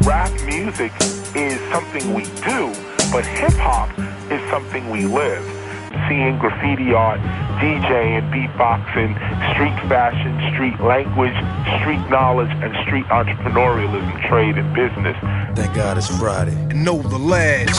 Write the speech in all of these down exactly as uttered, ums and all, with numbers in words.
rap music is something we do, but hip-hop is something we live. Seeing graffiti art, DJing, beatboxing, street fashion, street language, street knowledge, and street entrepreneurialism, trade, and business. Thank God it's Friday. And know the lads.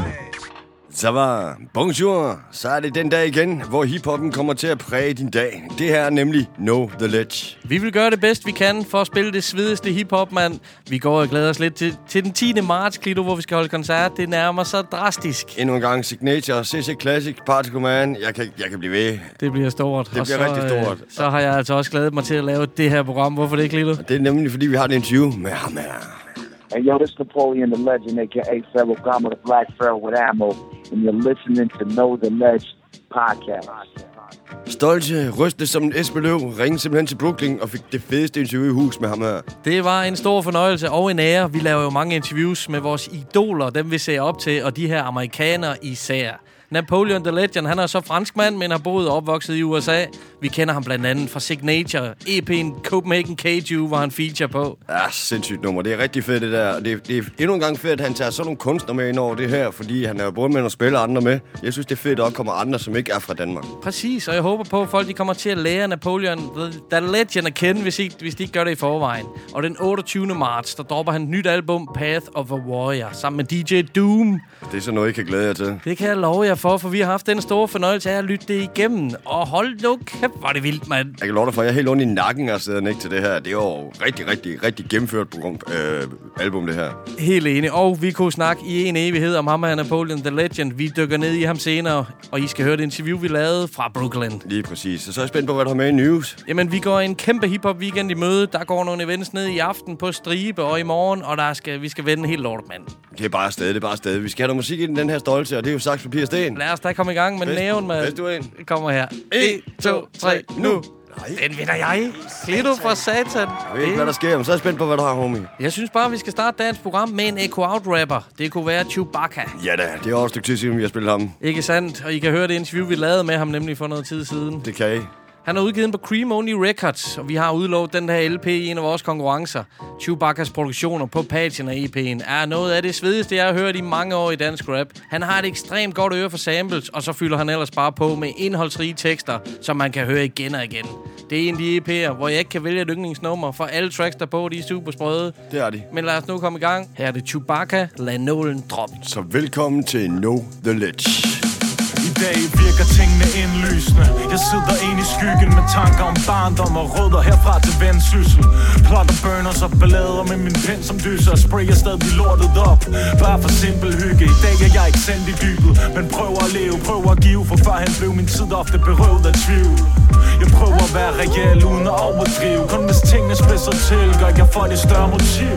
Så var bonjour, så er det den dag igen, hvor hiphoppen kommer til at præge din dag. Det her er nemlig Know The Ledge. Vi vil gøre det bedst, vi kan for at spille det svedigste hiphop, mand. Vi går og glæder os lidt til, til den tiende marts, Klito, hvor vi skal holde koncert. Det nærmer sig drastisk. Endnu en gang Signature, C C Classic, Particle Man. Jeg kan, jeg kan blive ved. Det bliver stort. Det bliver så, rigtig stort. Øh, så har jeg altså også glædet mig til at lave det her program. Hvorfor det, Klito? Det er nemlig, fordi vi har et interview med ham her. Hey, yo, this is Napoleon the Legend, a k a. Ferragamo, the Black Pharaoh with ammo, and you're listening to Know The Ledge podcast. Stolte, rystet som en esbeløv, ringede simpelthen til Brooklyn og fik det fedeste interview i hus med ham her. Det var en stor fornøjelse og en ære. Vi laver jo mange interviews med vores idoler, dem vi ser op til, og de her amerikanere især. Napoleon the Legend, han er så franskmand, men har boet og opvokset i U S A. Vi kender ham blandt andet fra Signature, E P'en Copenhagen Keiju, hvor han feature på. Ja, sindssygt nummer. Det er rigtig fedt, det der. Det er, det er endnu en gang fedt, at han tager sådan nogle kunstnere med ind over det her, fordi han er jo både med at spille andre med. Jeg synes, det er fedt, at der kommer andre, som ikke er fra Danmark. Præcis, og jeg håber på, at folk de kommer til at lære Napoleon the Legend at kende, hvis, I, hvis de ikke gør det i forvejen. Og den otteogtyvende marts, der dropper han et nyt album, Path of a Warrior, sammen med D J Doom. Det er sådan noget, I kan glæde jer til. Det kan jeg love jer for, for vi har haft den store fornøjelse af at lytte det igennem. Og hold nu kæft, hvor er det vildt, mand. Jeg kan love dig for, jeg er helt ondt i nakken og sidder ikke til det her. Det er jo rigtig, rigtig, rigtig gennemført program, øh, album, det her. Helt enig. Og vi kunne snakke i en evighed om ham og Napoleon the Legend. Vi dykker ned i ham senere, og I skal høre det interview, vi lavede fra Brooklyn. Lige præcis. Og så er jeg spændt på, hvad du har med i news. Jamen, vi går en kæmpe hiphop-weekend i møde. Der går nogle events ned i aften på Stribe og i morgen, og der skal, vi skal vende helt lortet, mand. Det er bare afsted, det er bare afsted. Vi skal have noget musik i den her stolte, og det er jo saks, papir, sten. Lad os da komme i gang med næven, mand. Bedst du en. Kommer her. en, to, tre, nu. Nej. Den vinder jeg. Klito for satan. Jeg ved ikke, hvad der sker, men så er jeg spændt på, hvad du har, homie. Jeg synes bare, vi skal starte dagens program med en Echo Out rapper. Det kunne være Chewbacca. Ja da, det er også et stykke tid siden, vi har spillet ham. Ikke sandt? Og I kan høre det interview, vi lavede med ham nemlig for noget tid siden. Det kan I. Han er udgivet på Cream Only Records, og vi har udlovet den her L P i en af vores konkurrencer. Chewbaccas produktioner på pagen af E P'en er noget af det svedigste, jeg har hørt i mange år i dansk rap. Han har et ekstremt godt øre for samples, og så fylder han ellers bare på med indholdsrige tekster, som man kan høre igen og igen. Det er en af de E P'er, hvor jeg ikke kan vælge et yndlingsnummer, for alle tracks der på, de er super sprøde. Det er de. Men lad os nu komme i gang. Her er det Chewbacca, lad nålen drop. Så velkommen til Know The Ledge. I dag virker tingene indlysende. Jeg sidder inde i skyggen med tanker om barndom og rødder herfra til vendsyssel. Plotter burners og ballader med min pen som dyser og sprayer stadig lortet op. Bare for simpel hygge. I dag er jeg ikke sendt i dybet, men prøver at leve, prøver at give. For førhen blev min tid ofte berøvet af tvivl. Jeg prøver at være reel uden at overdrive. Kun hvis tingene spidser til, gør jeg for det større motiv.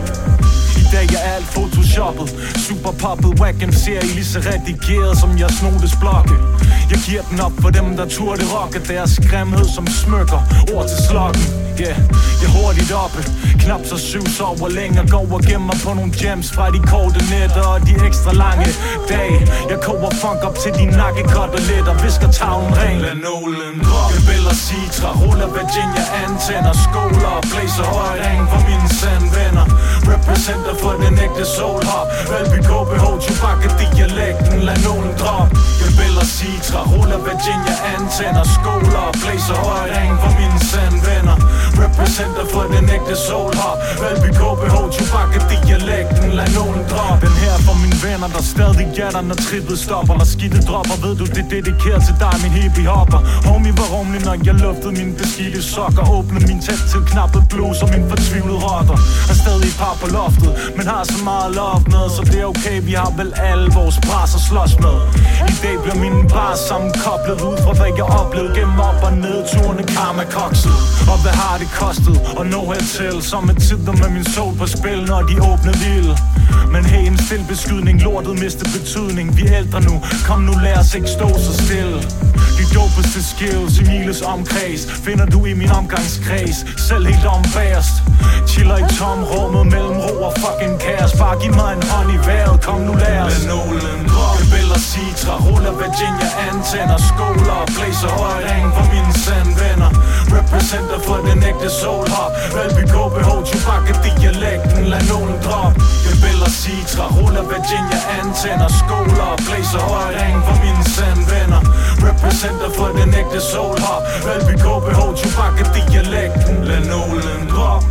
I dag er alt photoshoppet, super poppet, wack M C er lige så redigeret som jeg snodes blokke. Jeg giver den op for dem, der turde rocke deres grimhed som smykker, ord til slokken. Yeah, jeg er hurtigt oppe, knap så syv sover længere, går og gemmer på nogle gems fra de korte nætter og de ekstra lange dage. Jeg koger funk op til de nakkekoteletter, visker tavlen ren. Lad nålen droppe, bæller citra, ruller Virginia antænder, skåler og blæser høj ring for mine sandvenner. Representer for den ægte soulhop, Valby K B H, Chewbacca dialekten, lad nålen drop. Jeg bæller citra, ruller Virginia antænder, skåler og blæser høj ring for mine sandvenner. Representer for den ægte soulhop, Valby K B H, Chewbacca dialekten, lad nålen drop. Den her for mine venner, der stadig jatter, når trippet stopper. Når skidtet dropper, ved du, det er dedikeret til dig, min hippie hopper. Homie var rummelig, når jeg luftede mine beskidte sokker. Åbnede min tæt til knappet bluse og min fortvivlede rotter. Er stadig et par på loftet, men har så meget loft med, så det er okay, vi har vel alle vores bras at slås med. I dag bliver mine bras sammenkoblet ud fra hvad jeg oplevede gennem op og ned turene karma kokset. Og hvad har det kostet at nå hertil, som en tider med min sol på spil, når de åbnede ild. Men hey, en stil beskydning, lortet mister betydning. Vi er ældre nu, kom nu lad os ikke stå så stille. De dopeste skills i miles omkreds finder du i min omgangskreds, selv helt omværst. Chiller i tomrummet mellem ro og fucking kaos. Bare giv mig en hånd i vejret, kom nu lad os. Lad nålen droppe, bæller citra, ruller Virginia antænder, skåler og blæser høj ring for mine sandvenner. Representer for den ægte soulhop, Valby K B H, Chewbacca dialekten, lad nålen drop. Jeg Citra, ruller Virginia antænder, skoler og blæser høj ring for mine sandvenner. Representer for den ægte soul har Valby, K B H, tobak og dialekten. Lad nålen drop.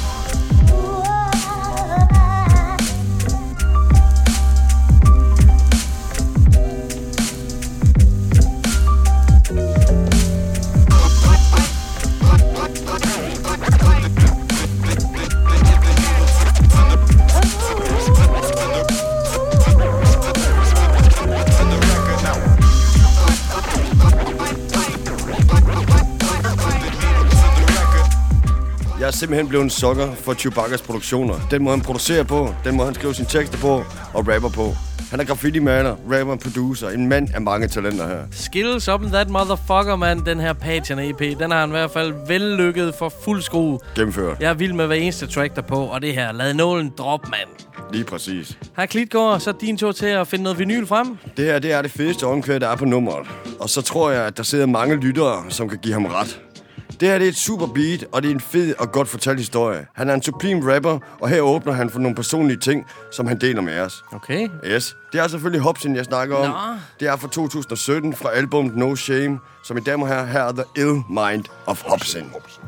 Jeg er simpelthen blevet en sukker for Chewbaccas produktioner. Den må han producere på, den må han skrive sine tekster på og rapper på. Han er graffiti-maler, rapper, producer, en mand af mange talenter her. Skills up in that motherfucker, man. Den her Pagerne E P, den har han i hvert fald vellykket for fuld skrue. Gennemført. Jeg er vild med hver eneste track der på, og det her, lad nålen drop, mand. Lige præcis. Her Klitgaard, så er din tur til at finde noget vinyl frem. Det her, det er det fedeste omkvæd, der er på nummeret. Og så tror jeg, at der sidder mange lyttere, som kan give ham ret. Det her det er et super beat, og det er en fed og godt fortalt historie. Han er en supreme rapper, og her åbner han for nogle personlige ting, som han deler med os. Okay. Yes. Det er selvfølgelig Hobson, jeg snakker om. Nå. Det er fra to tusind og sytten fra albumet No Shame, som i dag og her, her er The Ill Mind of Hobson.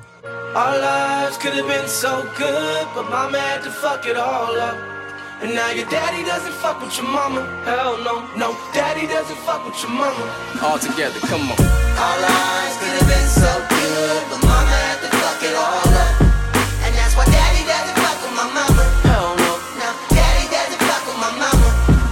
Our lives could have been so good, but mama had to fuck it all up. And now your daddy doesn't fuck with your mama. Hell no, no, daddy doesn't fuck with your mama. All together, come on. Our lives could have been so good, but mama had to fuck it all up. And that's why daddy doesn't fuck with my mama. Hell no, no, daddy doesn't fuck with my mama.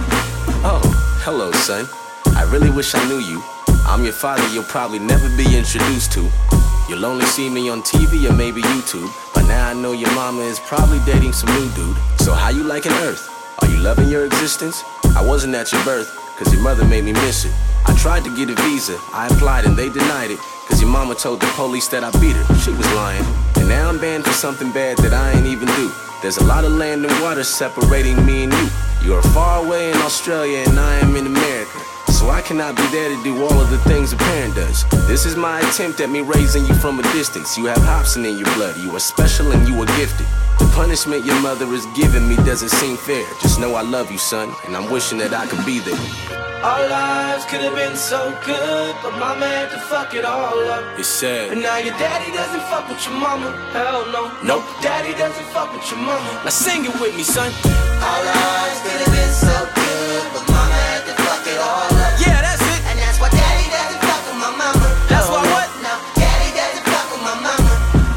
Oh, hello, son. I really wish I knew you. I'm your father you'll probably never be introduced to. You'll only see me on T V or maybe YouTube. But now I know your mama is probably dating some new dude. So how you liking Earth? Are you loving your existence? I wasn't at your birth, cause your mother made me miss it. I tried to get a visa, I applied and they denied it. Cause your mama told the police that I beat her, she was lying. And now I'm banned for something bad that I ain't even do. There's a lot of land and water separating me and you. You're far away in Australia and I am in America. So I cannot be there to do all of the things a parent does. This is my attempt at me raising you from a distance. You have Hobson in your blood, you are special and you are gifted. The punishment your mother is giving me doesn't seem fair. Just know I love you, son, and I'm wishing that I could be there. Our lives could have been so good, but mama had to fuck it all up. It's sad. And now your daddy doesn't fuck with your mama. Hell no, nope, daddy doesn't fuck with your mama. Now sing it with me, son. Our lives could have been so good, but mama had to fuck it all up. Yeah, that's it. And that's why daddy doesn't fuck with my mama. That's why what? No, daddy doesn't fuck with my mama.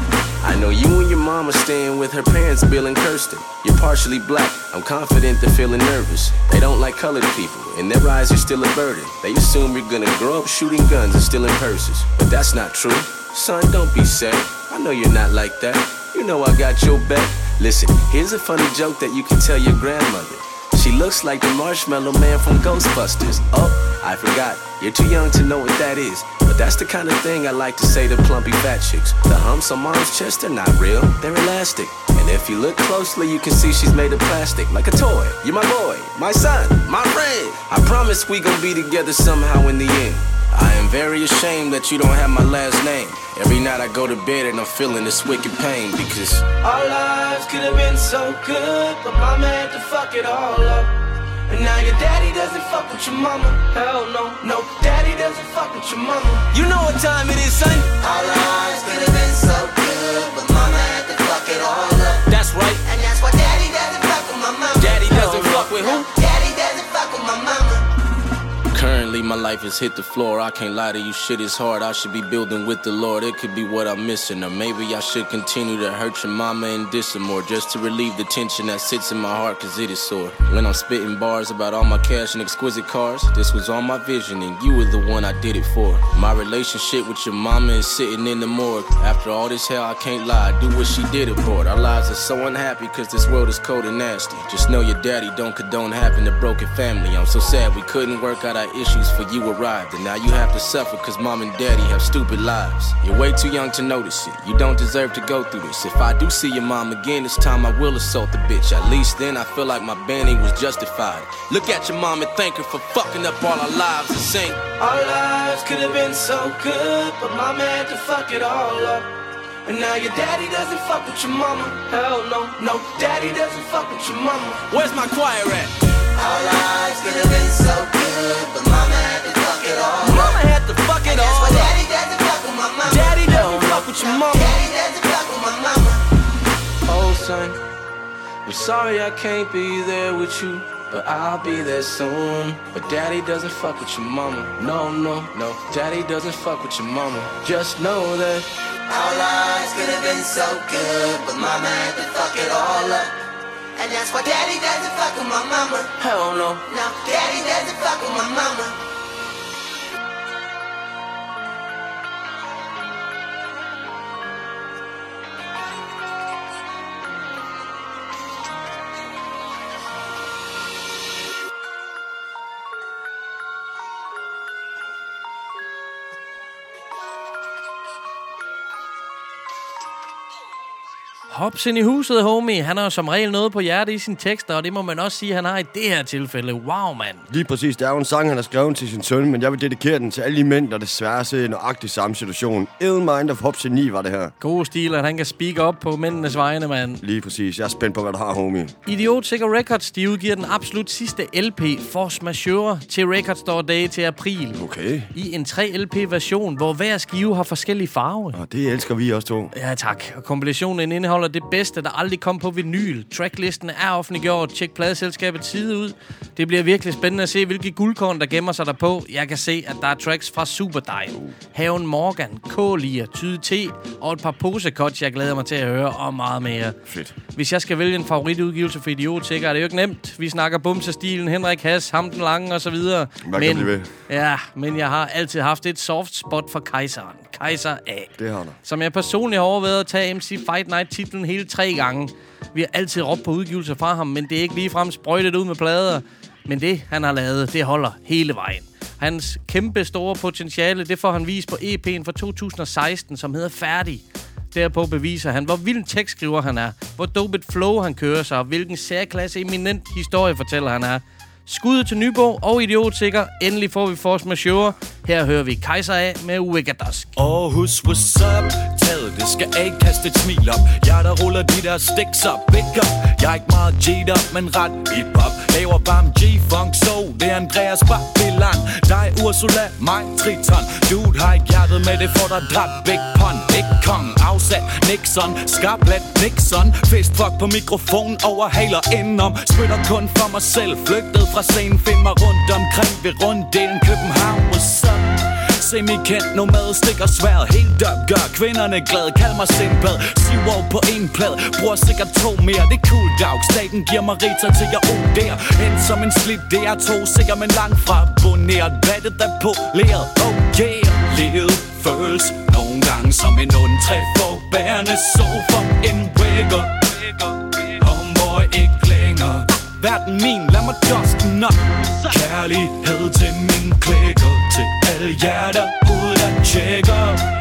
I know you and your mama staying with her parents, Bill and Kirsten. You're partially black, I'm confident they're feeling nervous. They don't like colored people, in their eyes you're still a burden. They assume you're gonna grow up shooting guns and stealing purses. But that's not true. Son, don't be sad, I know you're not like that. You know I got your back. Listen, here's a funny joke that you can tell your grandmother. She looks like the Marshmallow Man from Ghostbusters. Oh, I forgot, you're too young to know what that is. But that's the kind of thing I like to say to plumpy fat chicks. The humps on mom's chest are not real, they're elastic. And if you look closely, you can see she's made of plastic. Like a toy, you're my boy, my son, my friend. I promise we gon' be together somehow in the end. I am very ashamed that you don't have my last name. Every night I go to bed and I'm feeling this wicked pain because our lives could have been so good, but mama had to fuck it all up. And now your daddy doesn't fuck with your mama. Hell no, no, daddy doesn't fuck with your mama. You know what time it is, son? Our lives could have been so good, but mama had to fuck it all up. That's right. And that's why daddy doesn't fuck with my mama. Daddy doesn't no, fuck with who? Daddy doesn't fuck with my mama. Currently my life has hit the floor. I can't lie to you, shit is hard. I should be building with the Lord. It could be what I'm missing. Or maybe I should continue to hurt your mama and diss her more, just to relieve the tension that sits in my heart, cause it is sore. When I'm spitting bars about all my cash and exquisite cars, this was all my vision and you were the one I did it for. My relationship with your mama is sitting in the morgue. After all this hell, I can't lie, I do what she did aboard. Our lives are so unhappy cause this world is cold and nasty. Just know your daddy don't condone having a broken family. I'm so sad we couldn't work out our issues for you arrived, and now you have to suffer cause mom and daddy have stupid lives. You're way too young to notice it, you don't deserve to go through this. If I do see your mom again, it's time I will assault the bitch. At least then I feel like my banning was justified. Look at your mom and thank her for fucking up all our lives and sing. Our lives could have been so good, but mama had to fuck it all up. And now your daddy doesn't fuck with your mama. Hell no, no, daddy doesn't fuck with your mama. Where's my choir at? Our lives could have been so good, but mama had to fuck it all. Mama had to fuck it all. That's why daddy doesn't fuck with my mama. Daddy doesn't fuck with your mama. Daddy doesn't fuck with my mama. Oh son, I'm sorry I can't be there with you, but I'll be there soon. But daddy doesn't fuck with your mama. No, no, no, daddy doesn't fuck with your mama. Just know that our lives could have been so good, but mama had to fuck it all up. And that's why daddy doesn't fuck with my mama. hell no. No, daddy doesn't fuck with my mama. Hopsin i huset, homie. Han har jo som regel noget på hjertet i sine tekster, og det må man også sige, han har i det her tilfælde. Wow, mand. Lige præcis. Det er jo en sang, han har skrevet til sin søn, men jeg vil dedikere den til alle de mænd, der desværre ser i nøjagtig samme situation. Ill Mind of Hopsin ni var det her. God stil, at han kan speak op på mændenes vegne, mand. Lige præcis. Jeg er spændt på, hvad du har, homie. Idiot Sikker Records, de udgiver den absolut sidste L P, Force Majeure, til Record Store Day til april. Okay. I en tre L P-version, hvor hver skive har forskellige farver. Og det elsker vi også to. Ja, tak. Og kombinationen indeholder det bedste, der aldrig kom på vinyl. Tracklisten er offentliggjort. Tjek pladeselskabets side ud. Det bliver virkelig spændende at se, hvilke guldkorn, der gemmer sig derpå. Jeg kan se, at der er tracks fra Superdive, uh. Haven Morgan, K-Lier, Tyde T og et par posecuts, jeg glæder mig til at høre, og meget mere. Fedt. Hvis jeg skal vælge en favoritudgivelse for Idiot Sikker, er det jo ikke nemt. Vi snakker Bumser-stilen, Henrik Hass, Ham den Lange og så videre. Hvad kan blive ved? Ja, men jeg har altid haft et soft spot for Kejseren. Kejser A. Det har du. Som jeg personligt har overvejet at tage M C Fight Night-titlen hele tre gange. Vi har altid råbt på udgivelser fra ham, men det er ikke ligefrem sprøjtet ud med plader. Men det, han har lavet, det holder hele vejen. Hans kæmpe store potentiale, det får han vist på E P'en fra to tusind og seksten, som hedder Færdig. Derpå beviser han, hvor vild en tekstskriver han er, hvor dope et flow han kører sig, og hvilken særklasse eminent historiefortæller han er. Skuddet til Nyborg og Idiot Sikker. Endelig får vi Force Majeure. Her hører vi Kejser A med Wicked-Dusk. Aarhus, what's up? Taget, det skal A kaste et smil op. Jeg der ruller de der sticks op. Big up. Jeg er ikke meget G'd up, men ret hip-hop. Laver bare G-funk, so det er Andreas Babylon. Dig Ursula, mig Triton. Dude har ikke hjertet med, det får dig dræbt. Big pun, ikke kong, afsat Nixon. Skarplet Nixon. Festfuck på mikrofon, overhaler indenom. Spytter kun for mig selv, flygtet fra scenen. Find mig rundt omkring ved runddelen København. What's up? Semi-kendt nomad, stikker sværet helt op. Gør kvinderne glade, kald mig simpel. Siv på en plade, bruger sikkert to mere. Det er cool dog, staten giver mig rita til jeg der. End som en slidt D R to, sikker men langt fra boneret. Battet er poleret, oh yeah. Livet føles nogle gange som en ond træ for bærende sofa. En wigger, og mor ikke længere. Verden min, lad mig dusten op. Kærlighed til min klikker, til alle jer derude der tjekker.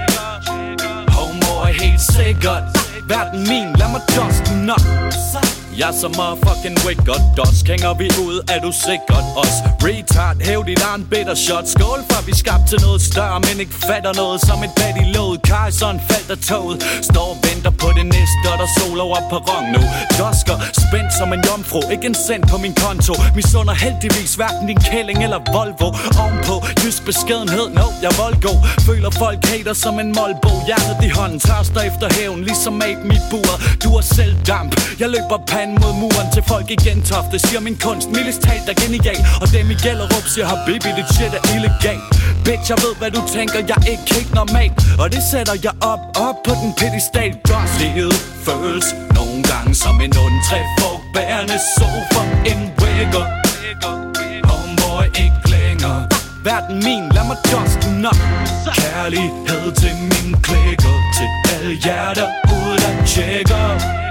Homo er helt sikkert. Verden min, lad mig dusten op. Jeg er så motherfucking wicked. Dusk hænger vi ud, er du sikkert os. Retard, hæv dit arm bitter shot. Skål for vi skabte til noget større, men ikke fatter noget som et bad i låget. Kejseren faldt af toget, står og venter på det næste, og der sol over perron nu. Dusker, spændt som en jomfru, ikke en cent på min konto. Misunder heldigvis hverken din kælling eller Volvo. Ovenpå jysk beskedenhed, no, jeg er voldgod. Føler folk hater som en målbo. Hjernet i hånden, tørster efter hævn, ligesom mate mit bur. Du er selv damp, jeg løber pan mod muren til folk igen tofte. Siger min kunst, mildest talt er genial. Og dem i Gellerup siger, habibi, dit shit er illegal. Bitch, jeg ved hvad du tænker, jeg er ikke helt normal. Og det sætter jeg op, op på den pedestal. Livet føles nogle gange som en ond træ for bærende sofa. En wigger, og mor ikke længere. Verden min, lad mig dusten op. Kærlighed til min klikker, til alle jer derude der tjekker.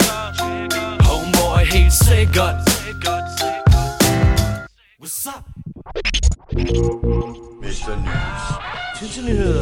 Er helt sikkert. What's up? mister News. Tidsnyheder.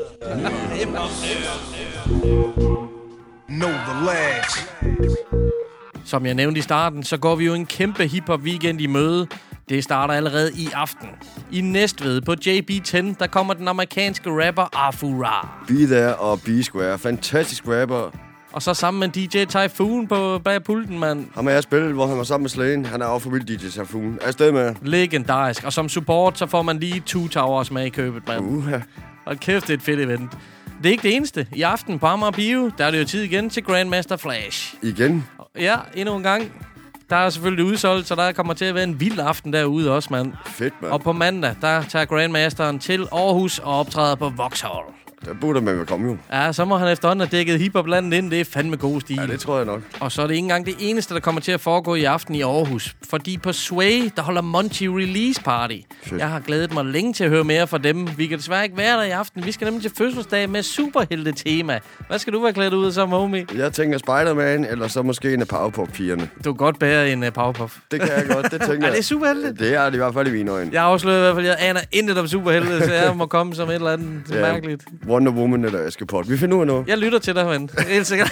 Know the lads. Som jeg nævnte i starten, så går vi jo en kæmpe hiphop weekend i møde. Det starter allerede i aften. I Næstved på J B ti, der kommer den amerikanske rapper Afura. Be There og Be Square. Fantastisk rapper. Og så sammen med D J Typhoon på bag pulten, mand. Ham har jeg spillet, hvor han var sammen med Slane. Han er også for vild, D J Typhoon. Er afsted med. Legendarisk. Og som support, så får man lige Two Towers med i købet, mand. Uh-huh. Og kæft, det er et fedt event. Det er ikke det eneste. I aften på Amager Bio, der er det jo tid igen til Grandmaster Flash. Igen? Ja, endnu en gang. Der er selvfølgelig udsolgt, så der kommer til at være en vild aften derude også, mand. Fedt, mand. Og på mandag, der tager Grandmasteren til Aarhus og optræder på Vauxhall. Der burde man vel komme jo. Ja, så må han efterhånden have dækket hiphop-landet ind. Det er fandme god stil. Ja, det tror jeg nok. Og så er det ikke engang det eneste, der kommer til at foregå i aften i Aarhus. Fordi på Sway, der holder Monty Release Party. Fedt. Jeg har glædet mig længe til at høre mere fra dem. Vi kan desværre ikke være der i aften. Vi skal nemlig til fødselsdag med superhelte-tema. Hvad skal du være klædt ud som, homie? Jeg tænker Spider-Man, eller så måske en af Powerpuff-pigerne. Du kan godt bære en uh, Powerpuff. Det kan jeg godt, det tænker jeg. Er det superhelte? Det er det i hvert fald i mine øjne. Jeg afslører i hvert fald, jeg aner intet om superhelte, så jeg må komme som et eller andet ja, mærkeligt. Wonder Woman eller Askepot. Vi finder ud af noget. Jeg lytter til dig, ven. Helt sikkert.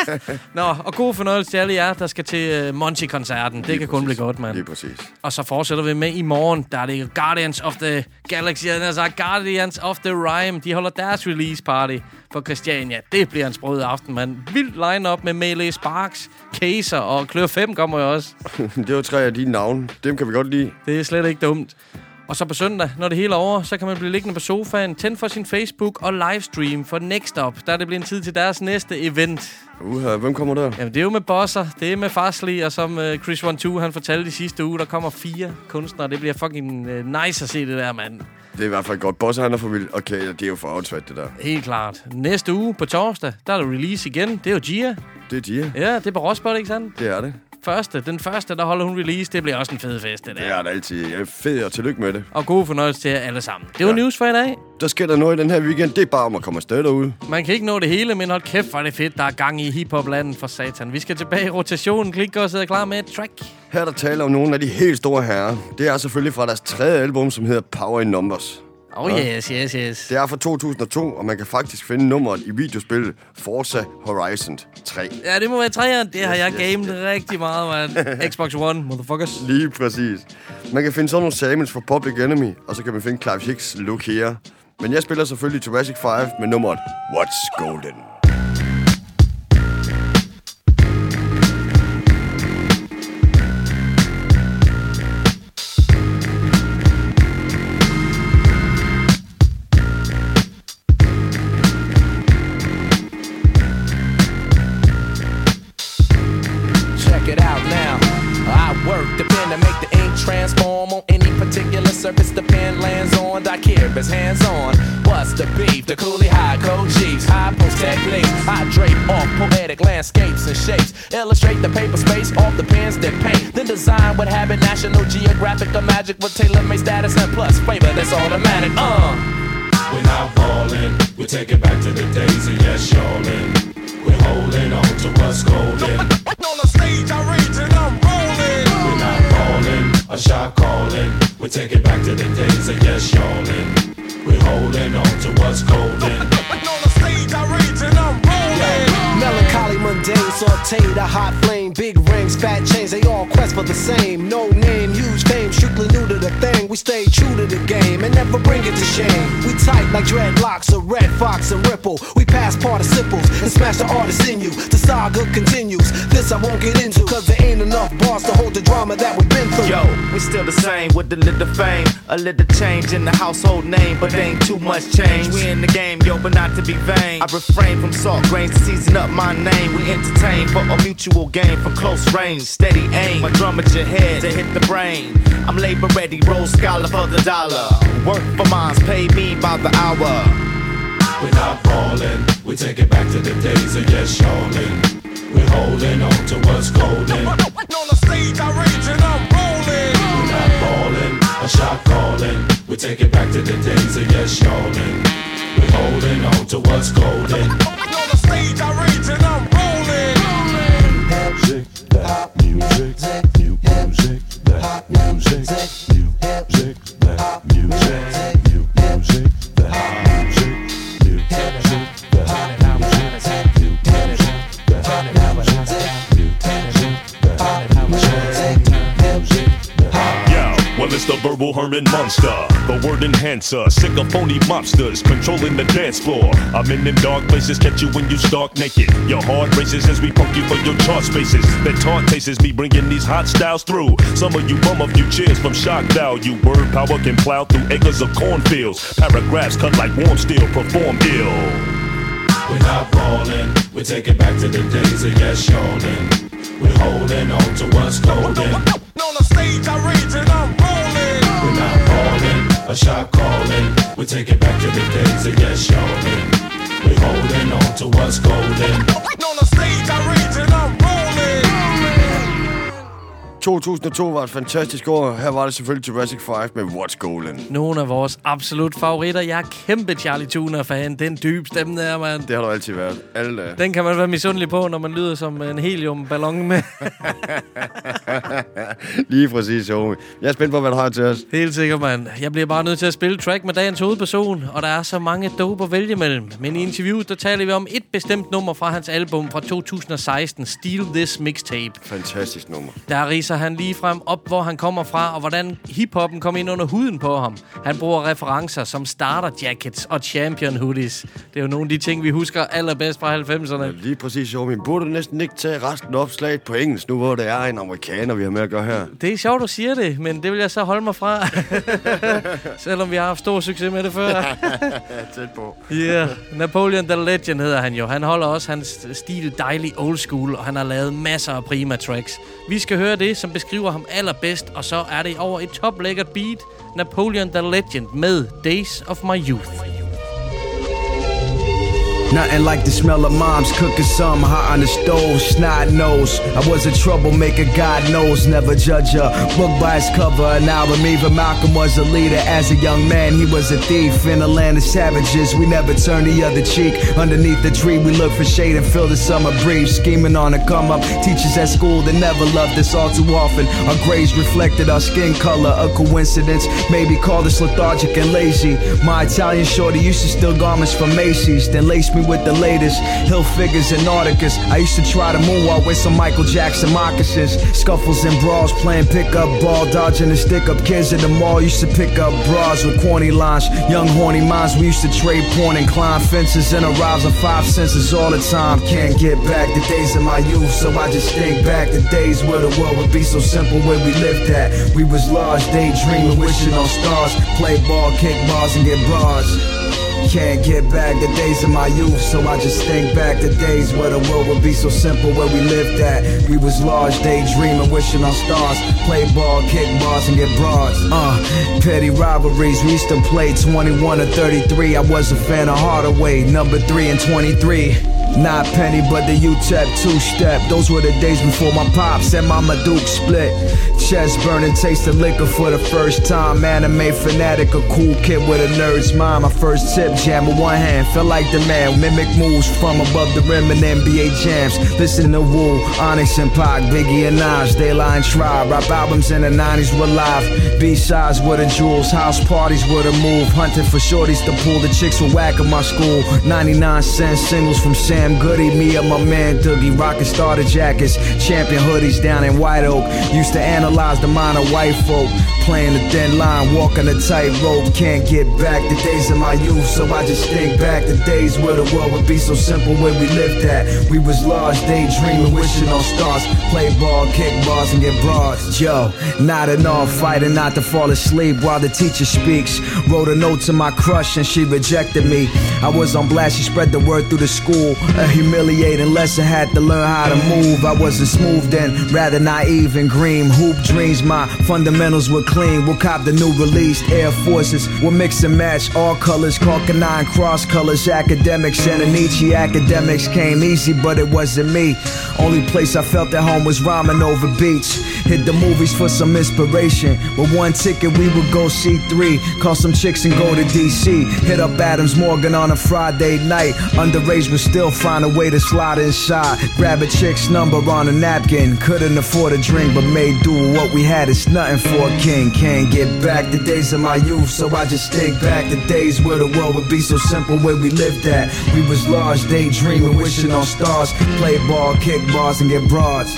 Nå, og god fornøjelse til alle jer, der skal til uh, Monty-koncerten. Det Lige kan præcis. kun blive godt, mand. Lige præcis. Og så fortsætter vi med i morgen. Der er det Guardians of the Galaxy, altså Guardians of the Rhyme. De holder deres release party på Christiania. Det bliver en sprød aften, mand. Vildt line-up med Melee Sparks, Kaser og Klør fem kommer jo også. Det var tre af dine navne. Dem kan vi godt lide. Det er slet ikke dumt. Og så på søndag, når det hele er over, så kan man blive liggende på sofaen, tænd for sin Facebook og livestream for Next Up. Der er det blevet en tid til deres næste event. Uha, hvem kommer der? Jamen, det er jo med Bosser, det er med Fastly, og som uh, Chris One Two, han fortalte i sidste uge, der kommer fire kunstnere. Det bliver fucking uh, nice at se det der, mand. Det er i hvert fald godt. Bosser, han er for vild. Okay, det er jo for åndssvagt, det der. Helt klart. Næste uge på torsdag, der er der release igen. Det er jo Gia. Det er Gia. Ja, det er på Rospot, ikke sandt? Det er det. Første, den første, der holder hun release, det bliver også en fed fest, det der. Det er det altid. Jeg er fed, og tillykke med det. Og god fornøjelse til jer alle sammen. Det var ja. News for i dag. Der sker der noget i den her weekend. Det er bare om at komme afsted derude. Man kan ikke nå det hele, men hold kæft, hvor er det fedt, der er gang i hiphop-landet for satan. Vi skal tilbage i rotationen. Klik og sidde klar med et track. Her der taler om nogle af de helt store herrer. Det er selvfølgelig fra deres tredje album, som hedder Power in Numbers. Oh ja. yes, yes, yes. Det er fra to tusind og to, og man kan faktisk finde nummeret i videospillet Forza Horizon tre. Ja, det må være træerne. Det yes, har jeg yes, gamet yes. rigtig meget, man. Xbox One, motherfuckers. Lige præcis. Man kan finde sådan nogle samples fra Public Enemy, og så kan man finde Clive Hicks Look Here. Men jeg spiller selvfølgelig Jurassic five med nummeret What's Golden. Transform on any particular surface the pen lands on. I care if hands on. What's the beef? The coolie high code chiefs, high post techniques. I drape off poetic landscapes and shapes. Illustrate the paper space off the pens that paint. Then design what habit National Geographic or magic with tailor-made status and plus flavor that's automatic. Uh. We're not ballin', we take it back to the days of yes, y'allin'. We're holding on to what's golden. On the stage I rage and I'm rolling. We're not ballin', a shot callin'. We take it back to the days of yes, y'allin'. We're holding on to what's golden. On the stage I rage and I'm rolling. Melancholy, mundane, sauteed, a hot flame. Big rings, fat chains, they all quest for the same. No name, huge fame, strictly new to the thing. We stay true to the game and never bring it to shame. We tight like dreadlocks, a red fox and ripple. We pass participles and smash the artist in you. The saga continues, this I won't get into, cause there ain't enough bars to hold the drama that we've been through. Yo, we still the same with a little fame. A little change in the household name, but ain't too much change. We in the game, yo, but not to be vain. I refrain from salt grains to season up my name. We entertain for a mutual gain from close range. Steady aim, I drum at your head to hit the brain. I'm labor ready, roll scholar for the dollar. Work for mines, pay me by the hour. We're not ballin', we take it back to the days of yes, y'allin'. We're holding on to what's golden. On the stage I rage and I'm rolling. We're not ballin', a shot callin'. We take it back to the days of yes, y'allin'. We're holding on to what's golden. On the stage I rage and I'm rolling. Music, that music, new music, that music, new music, that music, new music, that music, new music, that music, new music, that music, new music, that music, music, that music. Yo, well verbal Herman Munster, the word enhancer. Sick of phony mobsters controlling the dance floor. I'm in them dark places, catch you when you stark naked. Your heart races as we pump you for your chart spaces. That taunt tastes me bringing these hot styles through. Some of you bum a few cheers from shock value. Word power can plow through acres of cornfields. Paragraphs cut like warm steel, perform ill. We're not falling, we take it back to the days of yes, y'allin'. We're holding on to what's golden. On the stage I rage and I'm rolling. We're not falling, a shot calling. We take it back to the days of yes, y'allin'. We're holding on to what's golden. On the stage I rage and I'm rolling. to tusind og to var et fantastisk år. Her var det selvfølgelig Jurassic fem med What's Golden. Nogle af vores absolut favoritter. Jeg er kæmpe Charlie Tuna-fan. Den dybe stemme der, mand. Det har du altid været. Alle dage. Den kan man være misundelig på, når man lyder som en heliumballon med. Lige præcis, homie. Jeg er spændt på, hvad du har til os. Helt sikkert, mand. Jeg bliver bare nødt til at spille track med dagens hovedperson, og der er så mange dope at vælge mellem. Men i interviewet, der taler vi om et bestemt nummer fra hans album fra to tusind og seksten, Steal This Mixtape. Fantastisk nummer. Der riser han lige frem op, hvor han kommer fra, og hvordan hiphoppen kom ind under huden på ham. Han bruger referencer som starter jackets og champion hoodies. Det er jo nogle af de ting, vi husker allerbedst fra halvfemserne. Ja, lige præcis, jo. Men burde du næsten ikke tage resten opslaget på engelsk, nu hvor det er en amerikaner, vi har med at gøre her? Det er sjovt, du siger det, men det vil jeg så holde mig fra. Selvom vi har haft stor succes med det før. Tæt på. Yeah. Napoleon the Legend hedder han jo. Han holder også hans stil dejlig old school, og han har lavet masser af prima tracks. Vi skal høre det, som beskriver ham allerbedst, og så er det over et top-lækkert beat. Napoleon the Legend med Days of My Youth. Nothing like the smell of mom's cooking something hot on the stove, snot nose. I was a troublemaker, God knows, never judge a book by its cover. An album, even Malcolm was a leader. As a young man, he was a thief in a land of savages. We never turned the other cheek. Underneath the tree, we looked for shade and filled the summer breeze. Scheming on a come up, teachers at school that never loved us all too often. Our grades reflected our skin color, a coincidence. Maybe called us lethargic and lazy. My Italian shorty used to steal garments from Macy's, then lace me with the latest Hill figures and Nauticus. I used to try to moonwalk with some Michael Jackson moccasins. Scuffles and brawls, playing pickup ball, dodging the stick-up kids at the mall. Used to pick up bras with corny lines. Young horny minds, we used to trade porn and climb fences and arrives on five senses all the time. Can't get back the days of my youth, so I just think back the days where the world would be so simple, where we lived at. We was large, daydreaming, wishing on stars. Play ball, kick bars, and get bras. Can't get back the days of my youth, so I just think back the days where the world would be so simple, where we lived at. We was large, daydreaming, wishing on stars. Play ball, kick bars, and get broads. Uh, petty rivalries, we used to play twenty-one or thirty-three. I was a fan of Hardaway, number three and twenty-three. Not Penny, but the U T E P two-step. Those were the days before my pops and Mama Duke split. Chest burning, tasting liquor for the first time. Anime fanatic, a cool kid with a nerd's mind. My first tip jam with one hand, felt like the man. Mimic moves from above the rim in N B A jams. Listen to Wu, Onyx and Pac, Biggie and Nas, De La and Tribe. Rap albums in the nineties were live. B-sides were the jewels, house parties were the move. Hunting for shorties to pull, the chicks were whack at my school. ninety-nine cent singles from Sam Goody, me and my man Doogie. Rockin' starter jackets, champion hoodies down in White Oak. Used to analyze the mind of white folk. Playing the thin line, walking the tightrope. Can't get back the days of my youth, so I just think back the days where the world would be so simple, where we lived at. We was large, daydreaming, wishing on stars. Play ball, kick bars, and get broads. Yo, nodding off, fighting not to fall asleep while the teacher speaks. Wrote a note to my crush and she rejected me. I was on blast, she spread the word through the school. A humiliating lesson, had to learn how to move. I wasn't smooth then, rather naive and green. Hoop dreams, my fundamentals were clean. We'll cop the new released Air Forces. We'll mix and match all colors, Caucanine cross colors. Academics and Nietzsche academics came easy, but it wasn't me. Only place I felt at home was ramen over beach. Hit the movies for some inspiration. With one ticket we would go see three. Call some chicks and go to D C. Hit up Adams Morgan on a Friday night. Underage would still find a way to slide inside. Grab a chick's number on a napkin. Couldn't afford a drink but made do with what we had. It's nothing for a king. Can't get back the days of my youth, so I just think back the days where the world would be so simple, where we lived at. We was large, daydreaming, wishing on stars. Play ball, kick bars, and get broads.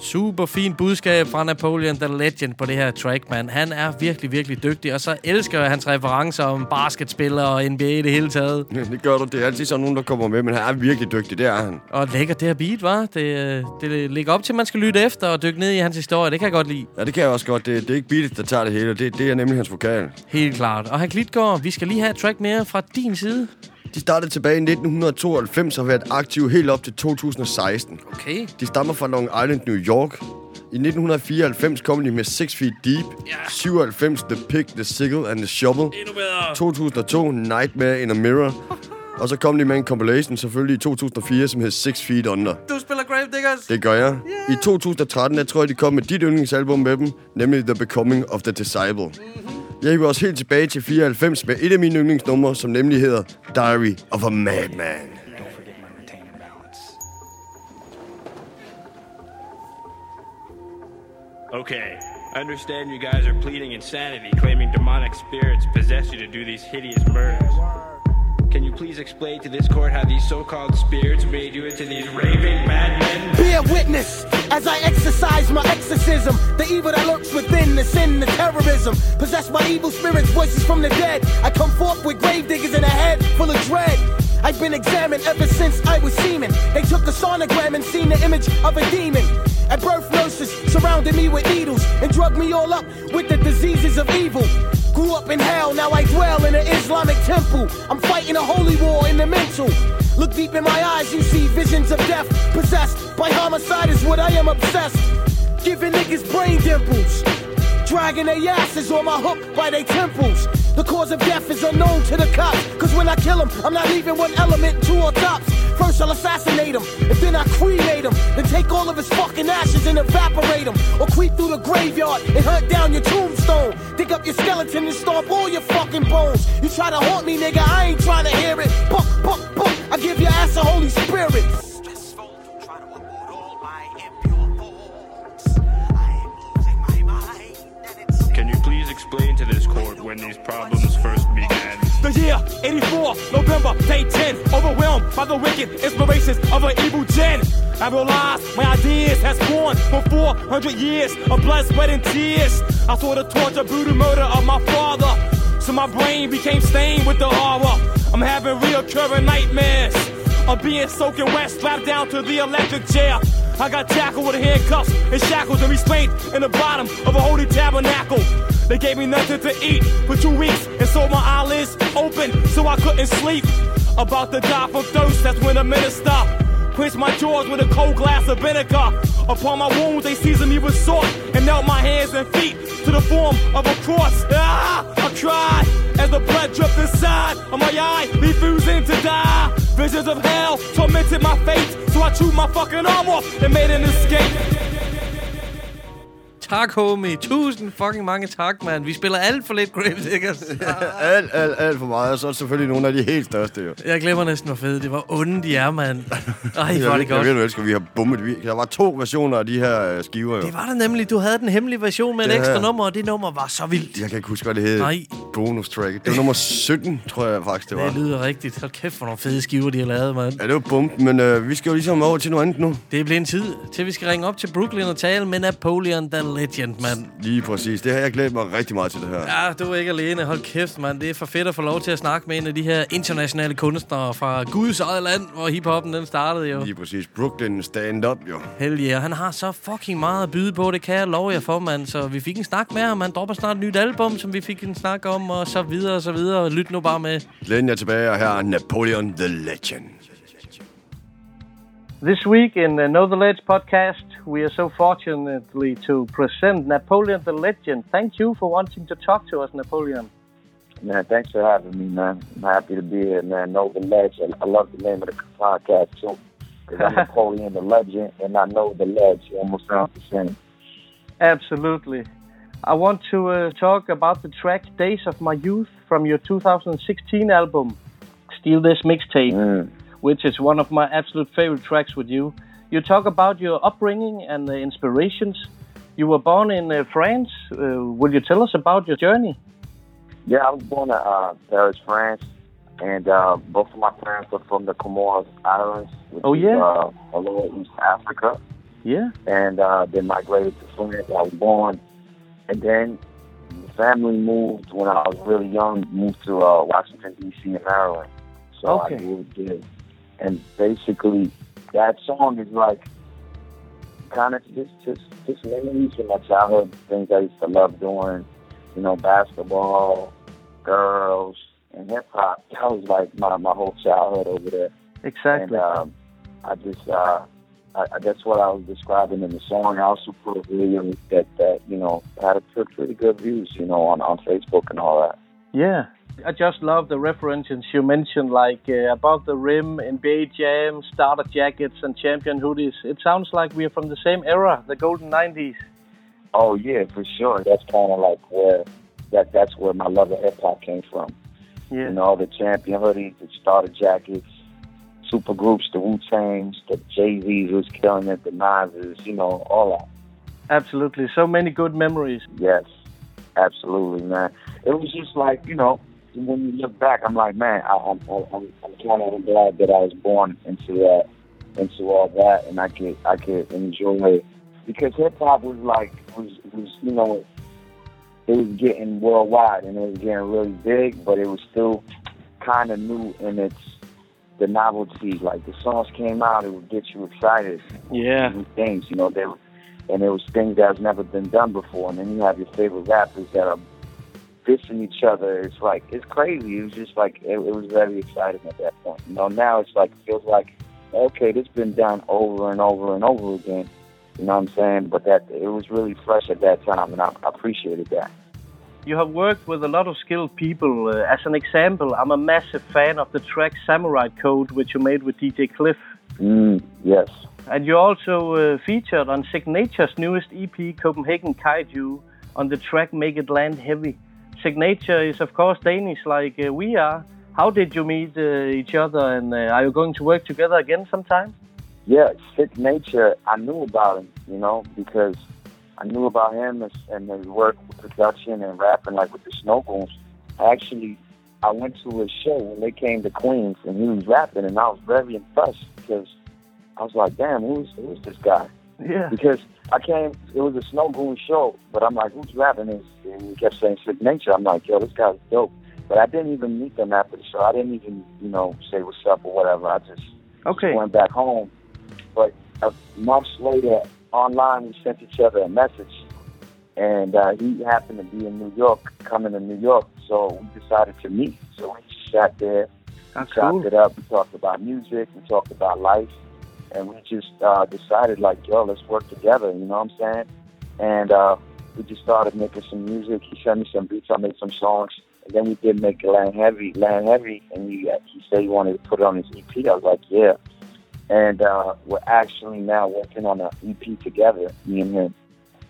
Super fint budskab fra Napoleon the Legend på det her track, man. Han er virkelig, virkelig dygtig, og så elsker jeg hans referencer om basketspillere og N B A i det hele taget. Ja, det gør du. Det er altid sådan nogen, der kommer med, men han er virkelig dygtig, det er han. Og lækker det her beat, var. Det, det ligger op til, at man skal lytte efter og dykke ned i hans historie. Det kan jeg godt lide. Ja, det kan jeg også godt. Det, det er ikke beatet, der tager det hele. Det, det er nemlig hans vokal. Helt klart. Og han Klitgaard, vi skal lige have et track mere fra din side. De startede tilbage i nitten tooghalvfems og har været aktive helt op til to tusind og seksten. Okay. De stammer fra Long Island, New York. I nitten fireoghalvfems kom de med Six Feet Deep. Ja. syvoghalvfems The Pick, The Sickle and The Shovel. Endnu bedre. to tusind og to Nightmare in a Mirror. Og så kom de med en compilation selvfølgelig i to tusind og fire, som hed Six Feet Under. Du spiller Gravediggers. Det gør jeg. Yeah. I to tusind og tretten, der tror jeg, de kom med dit yndlingsalbum med dem, nemlig The Becoming of the Disciple. Mm-hmm. Jeg går også helt tilbage til fireoghalvfems med et af mine yndlingsnumre, som nemlig hedder Diary of a Madman. Okay, I understand you guys are pleading insanity, claiming demonic spirits possess you to do these hideous murders. Can you please explain to this court how these so-called spirits made you into these raving madmen? Bear witness as I exercise my exorcism. The evil that lurks within, the sin, the terrorism. Possessed by evil spirits, voices from the dead. I come forth with grave diggers in a head full of dread. I've been examined ever since I was semen. They took a sonogram and seen the image of a demon. At birth, nurses surrounded me with needles and drugged me all up with the diseases of evil. Grew up in hell, now I dwell in an Islamic temple. I'm fighting a holy war in the mental. Look deep in my eyes, you see visions of death. Possessed by homicide is what I am obsessed. Giving niggas brain dimples. Dragging their asses on my hook by their temples. The cause of death is unknown to the cops. Cause when I kill them, I'm not leaving one element, two or tops. First I'll assassinate him, and then I cremate him. Then take all of his fucking ashes and evaporate him. Or creep through the graveyard and hunt down your tombstone. Dig up your skeleton and stomp all your fucking bones. You try to haunt me, nigga, I ain't trying to hear it. Buck, buck, buck, I give your ass a Holy Spirit. Can you please explain to this court when these problems first began? The year eighty-four, November, day ten. Overwhelmed by the wicked inspirations of an evil gen. I realized my ideas has born for four hundred years of blood, sweat, and tears. I saw the torture, brutal murder of my father. So my brain became stained with the horror. I'm having reoccurring nightmares of being soaking wet, strapped down to the electric chair. I got tackled with handcuffs and shackles and restrained in the bottom of a holy tabernacle. They gave me nothing to eat for two weeks and so my eyelids open so I couldn't sleep. About to die from thirst, that's when the minister quenched my jaws with a cold glass of vinegar. Upon my wounds they seasoned me with salt and knelt my hands and feet to the form of a cross. Ah! I cried as the blood dripped inside of my eye, refusing to die. Visions of hell tormented my fate, so I chewed my fucking arm off and made an escape. Tak, homie. Tusind fucking mange tak, mand. Vi spiller alt for lidt Gravediggers. alt, alt, alt for meget. Og så er selvfølgelig nogle af de helt største, jo. Jeg glemmer næsten, hvor fede det var. Onde de er, mand. Ej, hvor er det godt. Jeg ved, du elsker, vi har bummet. Der var to versioner af de her skiver, jo. Det var der nemlig. Du havde den hemmelige version med et ekstra her nummer, og det nummer var så vildt. Jeg kan ikke huske, hvad det hed. Nej. Bonus track. Det var nummer sytten, tror jeg faktisk, det var. Det lyder rigtigt. Hold kæft, for nogle fede skiver, de har lavet, mand. Ja, det var bump, men øh, vi skal jo ligesom over til noget andet nu. Det bliver en tid, til vi skal ringe op til Brooklyn og tale med Napoleon the Legend, mand. Lige præcis. Det har jeg glædet mig rigtig meget til det her. Ja, du er ikke alene. Hold kæft, mand. Det er for fedt at få lov til at snakke med en af de her internationale kunstnere fra Guds eget land, hvor hiphoppen den startede jo. Lige præcis. Brooklyn stand-up, jo. Hell yeah. Han har så fucking meget at byde på. Det kan jeg love jer for, mand. Så vi fik en snak med ham. Han dropper snart et nyt album, som vi fik en snak om, og så videre og så videre. Lyt nu bare med. Glæden jer tilbage, og her er Napoleon the Legend. This week in the Know the Ledge podcast, we are so fortunately to present Napoleon the Legend. Thank you for wanting to talk to us, Napoleon. Man, thanks for having me, man. I'm happy to be here, man. Know the Ledge. I love the name of the podcast, too. Because I'm Napoleon the Legend, and I know the Ledge. It almost sounds the same. Absolutely. I want to uh, talk about the track Days of My Youth from your two thousand sixteen album, Steal This Mixtape. Mm. Which is one of my absolute favorite tracks with you. You talk about your upbringing and the inspirations. You were born in uh, France. Uh, will you tell us about your journey? Yeah, I was born in uh, Paris, France, and uh, both of my parents are from the Comoros Islands, which oh, yeah? is uh, a little East Africa. Yeah. And uh, then migrated to France. I was born. And then the family moved when I was really young, moved to uh, Washington, D C and Maryland. So Okay. I moved there. And basically, that song is like kind of just, just, just memories from my childhood, things I used to love doing, you know, basketball, girls, and hip-hop. That was like my, my whole childhood over there. Exactly. And um, I just, uh, I, I, that's what I was describing in the song. I also put a video that, that you know, had a pretty, pretty good views, you know, on, on Facebook and all that. Yeah. I just love the references you mentioned, like uh, Above the Rim, N B A Jam, starter jackets, and champion hoodies. It sounds like we are from the same era, the golden nineties. Oh yeah, for sure. That's kind of like where that that's where my love of hip hop came from. Yeah. You know, the champion hoodies, the starter jackets, super groups, the Wu-Tangs, the Jay-Z's was killing it, the Nas's, you know, all that. Absolutely. So many good memories. Yes, absolutely, man. It was just like, you know, when you look back, I'm like, man, I, I'm, I'm, I'm kind of glad that I was born into that, into all that, and I could, I could enjoy it because hip hop was like, was, was, you know, it was getting worldwide and it was getting really big, but it was still kind of new in its the novelty. Like the songs came out, it would get you excited. Yeah. New things, you know, they were, and it was things that has never been done before. And then you have your favorite rappers that are dissing each other. It's like, it's crazy. It was just like, it, it was very exciting at that point. You know, now it's like, it feels like, okay, this has been done over and over and over again. You know what I'm saying? But that it was really fresh at that time, and I, I appreciated that. You have worked with a lot of skilled people. Uh, as an example, I'm a massive fan of the track Samurai Code, which you made with D J Cliff. Mm, yes. And you also uh, featured on Signature's newest E P, Copenhagen Kaiju, on the track Make It Land Heavy. Signature is, of course, Danish like uh, we are. How did you meet uh, each other, and uh, are you going to work together again sometime? Yeah, Signature, I knew about him, you know, because I knew about him and his work with production and rapping, like with the Snow Goons. Actually, I went to his show when they came to Queens, and he was rapping, and I was very impressed because I was like, damn, who's who's this guy? Yeah. Because I came, it was a Snow Goon show, but I'm like, who's rapping this? And he kept saying Signature. I'm like, yo, this guy's dope. But I didn't even meet them after the show. I didn't even, you know, say what's up or whatever. I just, okay. just went back home. But uh, months later, online, we sent each other a message. And uh, he happened to be in New York, coming to New York. So we decided to meet. So we sat there, That's chopped cool. it up. We talked about music. We talked about life. And we just uh, decided, like, yo, let's work together. You know what I'm saying? And uh, we just started making some music. He sent me some beats. I made some songs. And then we did make Land Heavy, Land Heavy. And he, he said he wanted to put it on his E P. I was like, yeah. And uh, we're actually now working on an E P together, me and him.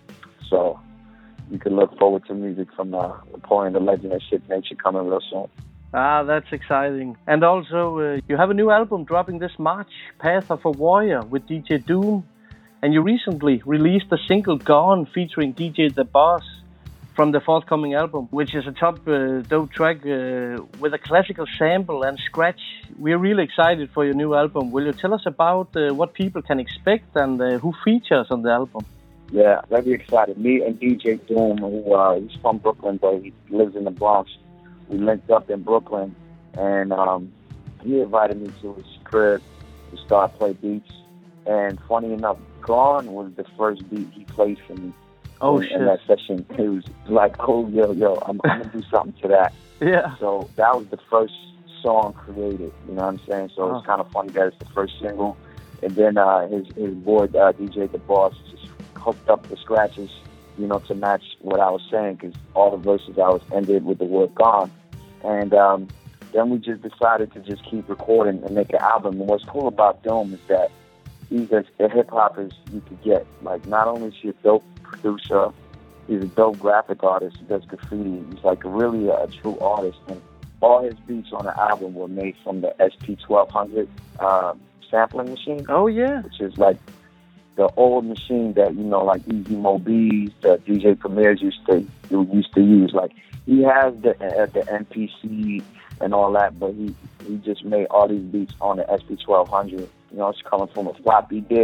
So you can look forward to music from uh, Napoleon the Legend of Signature coming real soon. Ah, that's exciting. And also, uh, you have a new album dropping this March, Path of a Warrior, with D J Doom. And you recently released the single Gone, featuring D J The Boss, from the forthcoming album, which is a top uh, dope track uh, with a classical sample and scratch. We're really excited for your new album. Will you tell us about uh, what people can expect and uh, who features on the album? Yeah, very excited. Me and D J Doom, who uh, he's from Brooklyn, but he lives in the Bronx. We linked up in Brooklyn, and um, he invited me to his crib to start play beats. And funny enough, Gone was the first beat he played for me. Oh, in, shit. in that session. He was like, oh, yo, yo, I'm, I'm going to do something to that. Yeah. So that was the first song created, you know what I'm saying? So Oh. it's kind of funny that it's the first single. And then uh, his, his boy, uh, D J The Boss, just hooked up the scratches, you know, to match what I was saying, because all the verses I was ended with the word gone. And um, then we just decided to just keep recording and make an album. And what's cool about Doom is that he's as a hip-hop as you could get. Like, not only is he a dope producer, he's a dope graphic artist. He does graffiti. He's like really a, a true artist. And all his beats on the album were made from the S P twelve hundred uh, sampling machine. Oh, yeah. Which is like the old machine that, you know, like Easy Mo Bees, that D J Premier's used to used to use. Like, he has the uh, the M P C and all that, but he, he just made all these beats on the S P twelve hundred. You know, it's coming from a floppy disk,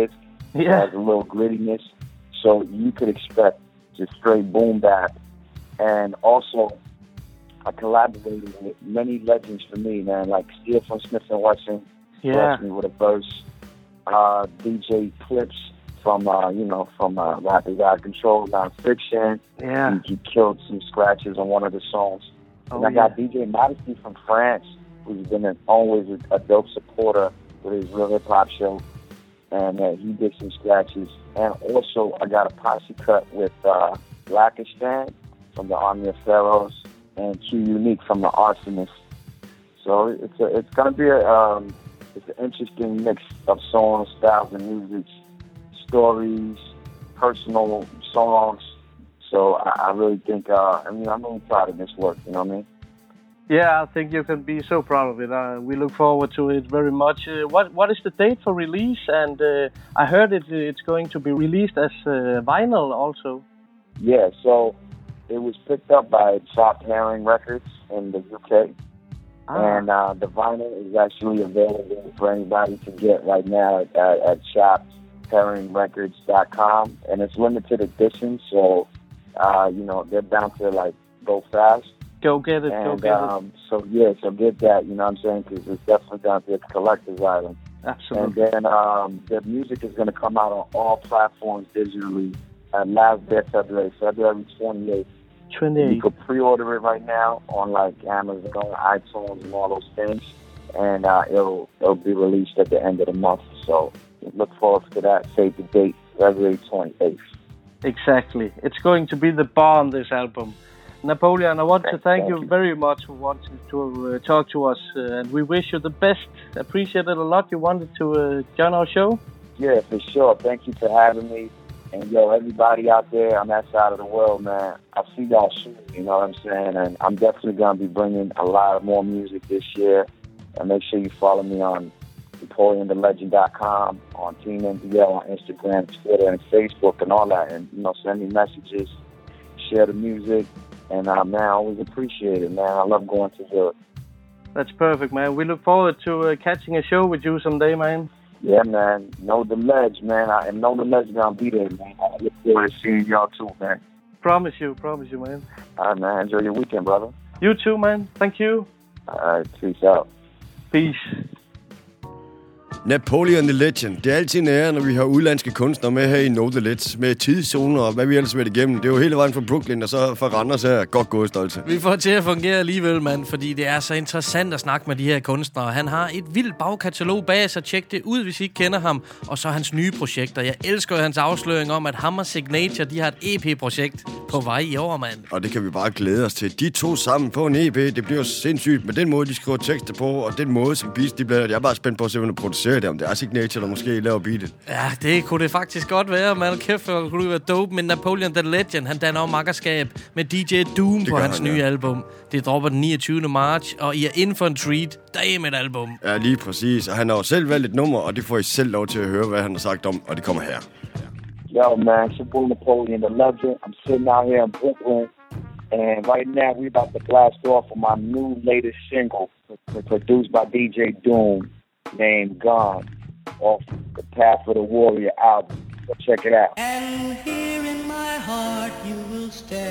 Yeah. It has a little grittiness. So you could expect just straight boom bap. And also, I collaborated with many legends for me, man, like Steel from Smith and Wesson. Yeah. Blessed me with a verse. Uh, D J Clips from, uh, you know, from uh, Rappers Out of Control, Non-Fiction. Yeah. He, he killed some scratches on one of the songs. Oh, and I got yeah. D J Modesty from France, who's been an, always a, a dope supporter with his Real Hip Hop show. And uh, he did some scratches. And also, I got a posse cut with uh, Blackistan from the Army of Pharaohs and Q Unique from the Arsonist. So it's a, it's gonna be a um, it's an interesting mix of songs, styles, and music, stories, personal songs. So I, I really think uh, I mean I'm really proud of this work. You know what I mean? Yeah, I think you can be so proud of it. Uh, we look forward to it very much. Uh, what What is the date for release? And uh, I heard it, it's going to be released as uh, vinyl also. Yeah, so it was picked up by Chopped Herring Records in the U K. Ah. And uh, the vinyl is actually available for anybody to get right now at, at, at chopped herring records dot com. And it's limited edition, so, uh, you know, they're bound to, like, go fast. Go get it, and, go get um, it. So, yeah, so get that, you know what I'm saying? Because it's definitely going to be a collector's item. Absolutely. And then um, the music is going to come out on all platforms digitally at last day February, February twenty-eighth. twenty-eighth. You can pre-order it right now on, like, Amazon, iTunes, and all those things. And uh, it'll, it'll be released at the end of the month. So look forward to that. Save the date, February twenty-eighth. Exactly. It's going to be the bar on this album. Napoleon, I want to thank you very much for wanting to uh, talk to us, uh, and we wish you the best. Appreciate it a lot. You wanted to uh, join our show? Yeah, for sure. Thank you for having me. And yo, everybody out there on that side of the world, man, I'll see y'all soon, you know what I'm saying? And I'm definitely going to be bringing a lot more music this year. And make sure you follow me on Napoleon the Legend dot com, on Team N B L, on Instagram, Twitter, and Facebook, and all that. And, you know, send me messages, share the music. And, uh, man, I always appreciate it, man. I love going to Europe. That's perfect, man. We look forward to uh, catching a show with you someday, man. Yeah, man. Know the Ledge, man. I, and Know the Ledge gonna be there, man. I look forward to seeing y'all, too, man. Promise you, promise you, man. All right, man. Enjoy your weekend, brother. You too, man. Thank you. All right, peace out. Peace. Napoleon the Legend. Det er altid en ære, når vi har udlandske kunstnere med her i Know the Ledge. Med tidszoner og hvad vi ellers været igennem. Det er jo hele vejen fra Brooklyn og så fra Randers her. Godt gået, Stolte. Vi får til at fungere alligevel, mand. Fordi det er så interessant at snakke med de her kunstnere. Han har et vildt bagkatalog bag sig. Tjek det ud, hvis I ikke kender ham. Og så hans nye projekter. Jeg elsker jo hans afsløring om, at Hammer Signature, de har et E P-projekt på vej i år, mand. Og det kan vi bare glæde os til. De to sammen på en E P, det bliver jo sindssygt. Med den måde, de skriver tekster på, og den måde, som beats de bliver. Jeg er bare spændt på at se, hvordan de producerer det. Om det er Signature, der måske laver beatet. Ja, det kunne det faktisk godt være, man. Kæft, hvor kunne det være dope. Men Napoleon the Legend, han danner jo makkerskab med D J Doom det på hans han, nye ja. album. Det dropper den niogtyvende marts, og I er inden for en treat. Der er med et album. Ja, lige præcis. Og han har jo selv valgt et nummer, og det får I selv lov til at høre, hvad han har sagt om, og det kommer her. Yo, man, it's your boy Napoleon the Legend. I'm sitting out here in Brooklyn, and right now we about to blast off of my new latest single, produced by D J Doom, named Gone, off the Path of the Warrior album. So check it out. And here in my heart you will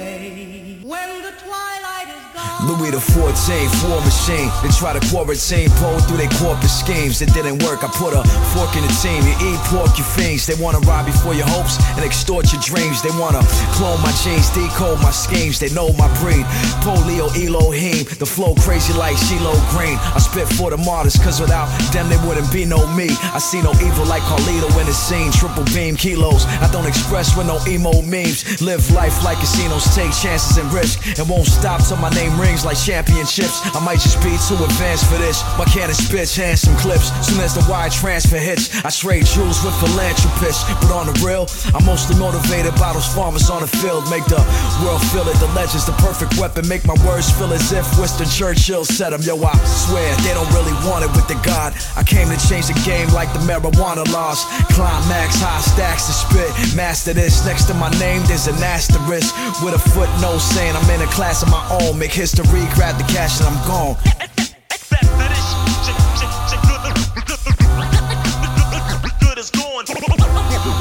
stay when the twilight is gone. Louis the fourteenth, war machine. They try to quarantine, pull through their corporate schemes. It didn't work, I put a fork in the team. You eat pork, you fiends. They wanna rob you for your hopes and extort your dreams. They wanna clone my genes, decode my schemes. They know my breed. Polio, Elohim. The flow crazy like Shiloh Green. I spit for the martyrs, cause without them there wouldn't be no me. I see no evil like Carlito in the scene. Triple beam kilos. I don't express with no emo memes. Live life like casinos, take chances and risk. And won't stop till my name rings like championships. I might just be too advanced for this. My cannon spits handsome clips. Soon as the wire transfer hits, I trade jewels with philanthropists. But on the real, I'm mostly motivated by those farmers on the field. Make the world feel it. The legend's the perfect weapon. Make my words feel as if Winston Churchill said them. Yo, I swear they don't really want it with the God. I came to change the game like the marijuana laws. Climax, high stacks to spit. Master this. Next to my name, there's an asterisk with a footnote saying I'm in a class of my own. Make history, grab the cash, and I'm gone. Good is gone.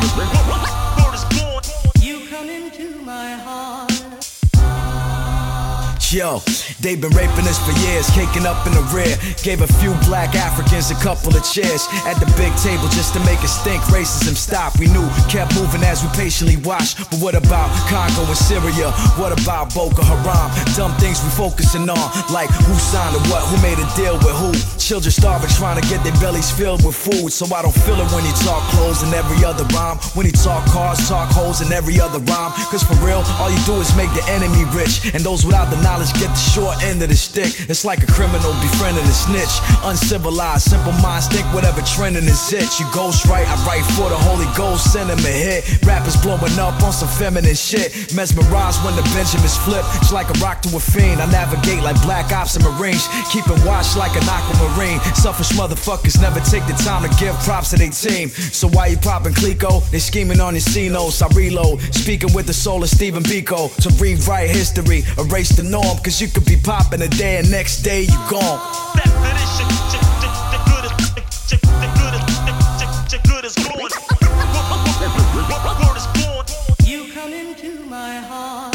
Yo, they've been raping us for years, caking up in the rear. Gave a few black Africans a couple of chairs at the big table just to make us think racism stop. We knew, kept moving as we patiently watched. But what about Congo and Syria? What about Boko Haram? Dumb things we focusing on, like who signed what, who made a deal with who. Children starving trying to get their bellies filled with food. So I don't feel it when he talk clothes and every other rhyme. When he talk cars, talk hoes and every other rhyme. Cause for real, all you do is make the enemy rich, and those without the knowledge get the short end of the stick. It's like a criminal befriending a snitch. Uncivilized, simple minds think whatever trending is it. You ghost right, I write for the Holy Ghost, send him a hit. Rappers blowing up on some feminine shit. Mesmerized when the Benjamins flip. It's like a rock to a fiend. I navigate like black ops and marines, keeping watch like an aquamarine. Selfish motherfuckers never take the time to give props to their team. So why you popping Clico? They scheming on your C-notes. I reload, speaking with the soul of Stephen Biko to rewrite history, erase the norm. Cause you could be popping a day and next day you gone. You come into my heart.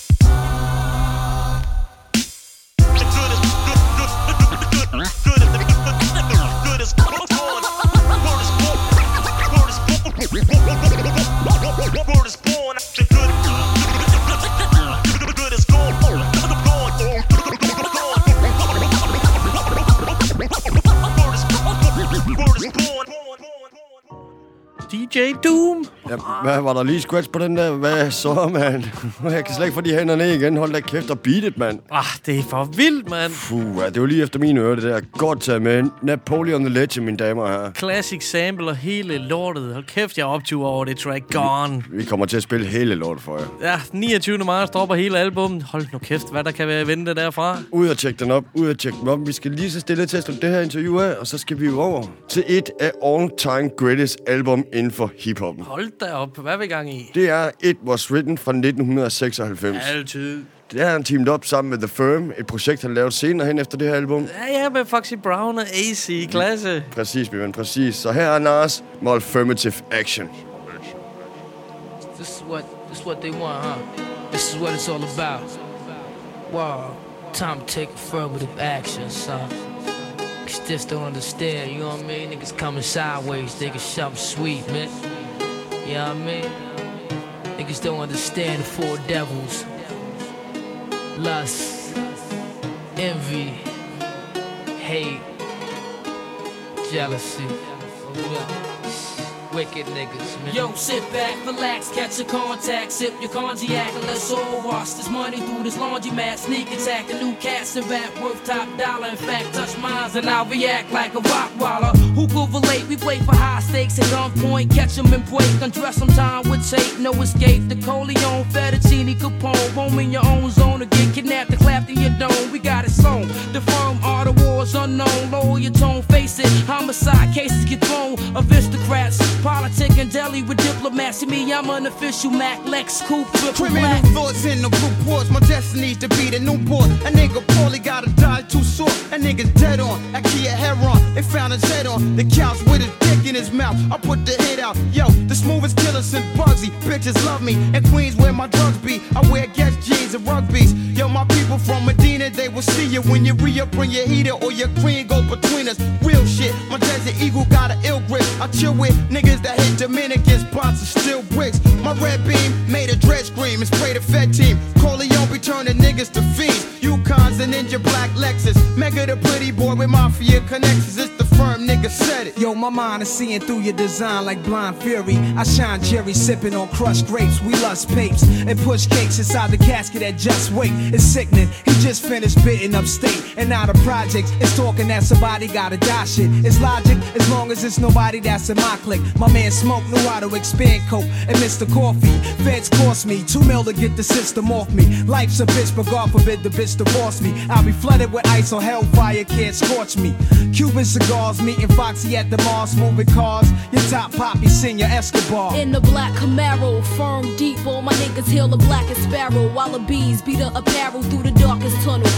D J Doom. Ja, hvad var der lige scratch på den der? Hvad så, mand? Jeg kan slet ikke få de hænder ned igen. Hold da kæft og beat it, mand. Ah, det er for vildt, mand. Puh, ja, det var lige efter mine ører, det der. Godt taget med. Napoleon the Legend, mine damer og herrer. Classic sample og hele lortet. Hold kæft, jeg er optur over det track. Gone. Vi, vi kommer til at spille hele lortet for jer. Ja, niogtyvende marts dropper hele albummet. Hold nu kæft, hvad der kan være at vente derfra. Ud og tjek den op, ud og tjek den op. Vi skal lige så stille til at slutte det her interview af, og så skal vi jo over til et af all-time greatest album inden for hiphoppen. Hold da op. Hvad er vi i gang i? Det er It Was Written fra nitten seksoghalvfems. Altid. Det er han teamet op sammen med The Firm, et projekt, han lavede senere hen efter det her album. Ja, ja, med Foxy Brown og A C i klasse. Præcis, min ven, præcis. Så her er Nas med Affirmative Action. This is what, this is what they want, huh? This is what it's all about. Wow, time to take affirmative action, son. Cause just don't understand, you know what I mean? Niggas coming sideways, niggas something sweet, man. You know what I mean? Niggas don't understand the four devils. Lust, envy, hate, jealousy. Wicked niggas, man. Yo, sit back, relax, catch a contact, sip your cognac, and let's all wash this money through this laundromat. Sneak attack, a new cats and rap worth top dollar. In fact, touch mines and I'll react like a rock waller. Who could relate? We play for high stakes at gunpoint, catch them and break. Undress some time with tape, no escape. The Coleon, Fettuccine, Capone, roam in your own zone or get kidnapped and clapped in your dome. We got it sewn. The firm are the wars unknown. Lower your tone, face it. Homicide cases get thrown. Aristocrats. Politic and deli with diplomats. To me, I'm an official Mac Lex Coupe. Criminal black. Thoughts in the blue ports. My destiny's to be the new boss. A nigga poorly gotta die too short. A nigga's dead on. I Kia Heron. They found his head on the couch with his dick in his mouth. I put the hit out. Yo, the smoothest killer since Bugsy. Bitches love me. And Queens where my drugs be. I wear Guess jeans and rugbies. Yo, my people from Medina, they will see you when you re-up, bring your heater or your green goes between us. Real shit. My Desert Eagle got an ill grip. I chill with niggas that hit Dominican spots and still bricks. My red beam made a dread scream and spray the Fed team. Corleone be turning niggas to fiends. Yukons and Ninja Black Lexus. Mega the pretty boy with mafia connections. It's the firm nigga said it. Yo, my mind is seeing through your design like blind fury. I shine Jerry sipping on crushed grapes. We lust papes and push cakes inside the casket at Just Wait. It's sickening. He just finished bitten upstate and out of projects. It's talking that somebody gotta die shit. It's logic as long as it's nobody that's in my clique. My man Smoke knew how to expand coke and Mister Coffee. Feds cost me two mil to get the system off me. Life's a bitch, but God forbid the bitch divorce me. I'll be flooded with ice or hellfire can't scorch me. Cuban cigars, meeting Foxy at the Mars, moving cars. Your top poppy, Senior Escobar. In the black Camaro, firm deep, all my niggas hail the blackest sparrow. While the bees beat the apparel through the darkest tunnel. I got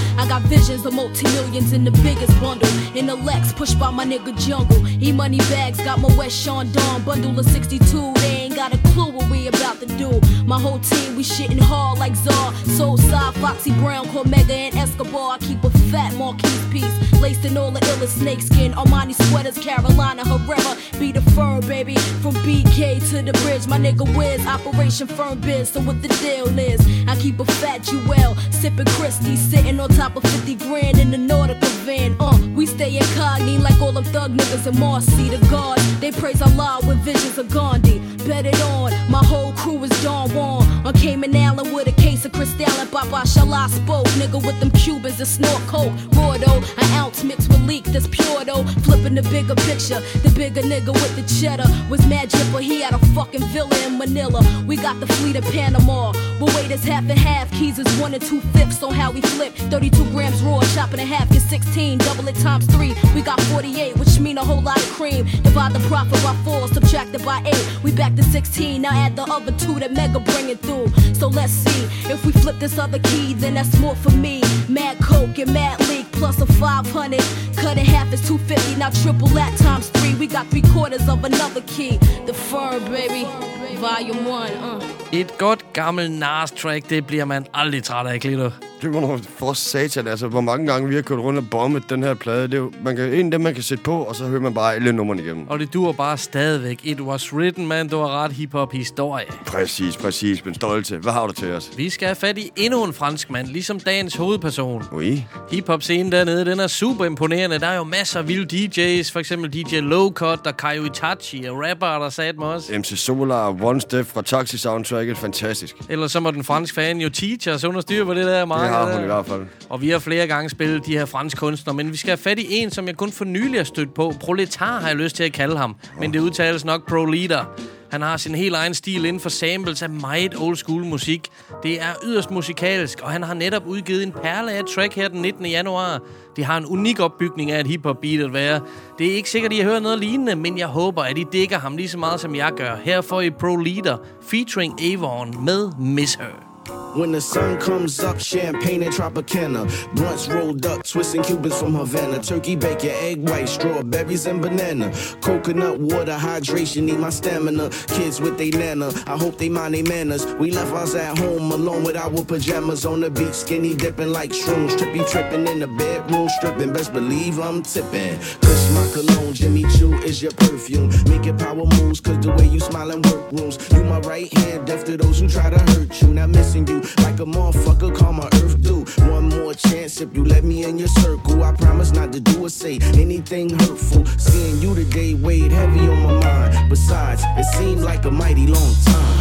Visions of multi-millions in the biggest bundle. Intellects pushed by my nigga Jungle. E-money bags got my West Sean Dawn. Bundle of sixty-two, they ain't got a clue what we about to do. My whole team, we shitting hard like Czar. Soulside, Foxy Brown, Cormega, and Escobar. I keep a fat Marquise piece, laced in all the illest snakeskin. Armani sweaters, Carolina Herrera. Be the firm, baby, from B K to the bridge. My nigga Wiz, Operation Firm Biz. So what the deal is, I keep a fat Jewel, sipping Christie, sitting on top of fifty grand in the Nautica van. Uh, we stay incognito like all them thug niggas in Marcy. The guards, they praise Allah with visions of Gandhi. Bet it on, my whole crew is Don Juan. On Cayman Island with a case of Cristal and Baba Shala spoke. Nigga with them Cubans that snort coke. Raw though, an ounce mixed with leak that's pure though. Flipping the bigger picture, the bigger nigga with the cheddar was mad jipper. He had a fucking villa in Manila. We got the fleet of Panama, but wait, it's half and half. Keys is one and two fifths on how we flip. thirty-two grams raw, chopping in half, get sixteen. Double it times three, we got forty-eight, which mean a whole lot of cream. Divide the profit by four, subtract it by eight. We back to sixteen, now add the other two that Mega bringing through. So let's see, if we flip this other key, then that's more for me. Mad Coke and Mad Leak, plus a five hundred. Cut in half is two fifty, now triple that times three. We got three quarters of another key. The Firm, baby, volume one, uh. Et godt gammelt Nas-track, det bliver man aldrig træt af, Glitter. Det var noget for satan, altså hvor mange gange vi har kørt rundt og bommet den her plade. Det er jo, man kan, en af dem, man kan sætte på, og så hører man bare alle numrene igennem. Og det duer bare stadigvæk. It was written, man. Det var ret hip-hop-historie. Præcis, præcis. Men stolte. Hvad har du til os? Vi skal have fat i endnu en fransk mand, ligesom dagens hovedperson. Oui. Hip-hop-scenen dernede, den er super imponerende. Der er jo masser af vilde D J's. For eksempel D J Low-Cut og Kaio Itachi og rapper, der sagde mig også. M C Solar og One Step fra Taxi Soundtracket. Fantastisk. Ellers så må den franske fan jo Teachers understyre på det der meget. Det har hun i hvert fald. Og vi har flere gange spillet de her franske kunstnere, men vi skal have fat i en, som jeg kun for nylig har stødt på. Proletar har jeg lyst til at kalde ham, men det udtales nok Pro Leader. Han har sin helt egen stil inden for samples af meget old school musik. Det er yderst musikalsk, og han har netop udgivet en perle af et track her den nittende januar. Det har en unik opbygning af et hiphop beat at være. Det er ikke sikkert, at I har hørt noget lignende, men jeg håber, at I digger ham lige så meget, som jeg gør. Her får I Pro Leader featuring Avon med Miss Her. When the sun comes up, champagne and Tropicana. Blunts rolled up, twisting Cubans from Havana. Turkey bacon, egg white, strawberries and banana. Coconut water, hydration, need my stamina. Kids with they nana, I hope they mind their manners. We left us at home alone with our pajamas on the beach. Skinny dipping like shrooms, trippy tripping in the bedroom, stripping. Best believe I'm tipping. Kush my cologne, Jimmy Choo is your perfume. Making power moves, cause the way you smile in workrooms. You my right hand, deaf to those who try to hurt you. Not missing you like a motherfucker, call my earth due. One more chance if you let me in your circle. I promise not to do or say anything hurtful. Seeing you today weighed heavy on my mind. Besides, it seems like a mighty long time.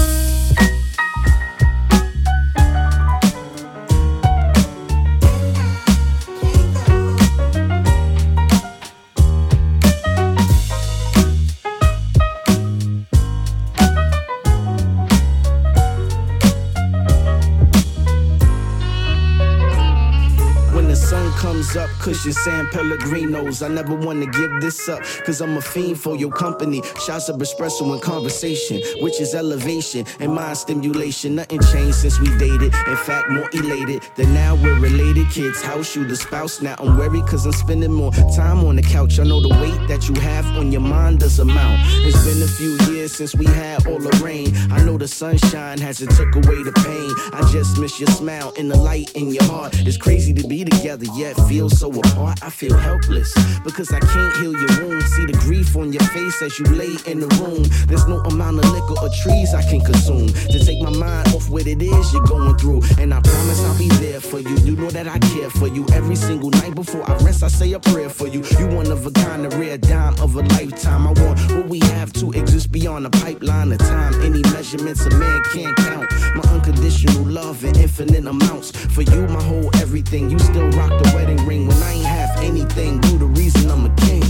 Up, cushion San Pellegrinos. I never want to give this up, cause I'm a fiend for your company. Shots of espresso and conversation, which is elevation and mind stimulation. Nothing changed since we dated. In fact, more elated than now we're related. Kids, house you, the spouse. Now I'm worried cause I'm spending more time on the couch. I know the weight that you have on your mind does amount. It's been a few years since we had all the rain. I know the sunshine hasn't took away the pain. I just miss your smile and the light in your heart. It's crazy to be together, yet feel so apart. I feel helpless because I can't heal your wounds. See the grief on your face as you lay in the room. There's no amount of liquor or trees I can consume to take my mind off what it is you're going through. And I promise I'll be there for you. You know that I care for you. Every single night before I rest, I say a prayer for you. You one of a kind, a rare dime of a lifetime. I want what we have to exist beyond the pipeline of time. Any measurements a man can't count. My unconditional love in infinite amounts. For you, my whole everything. You still rock the wedding ring when I ain't have anything. You the reason I'm a king.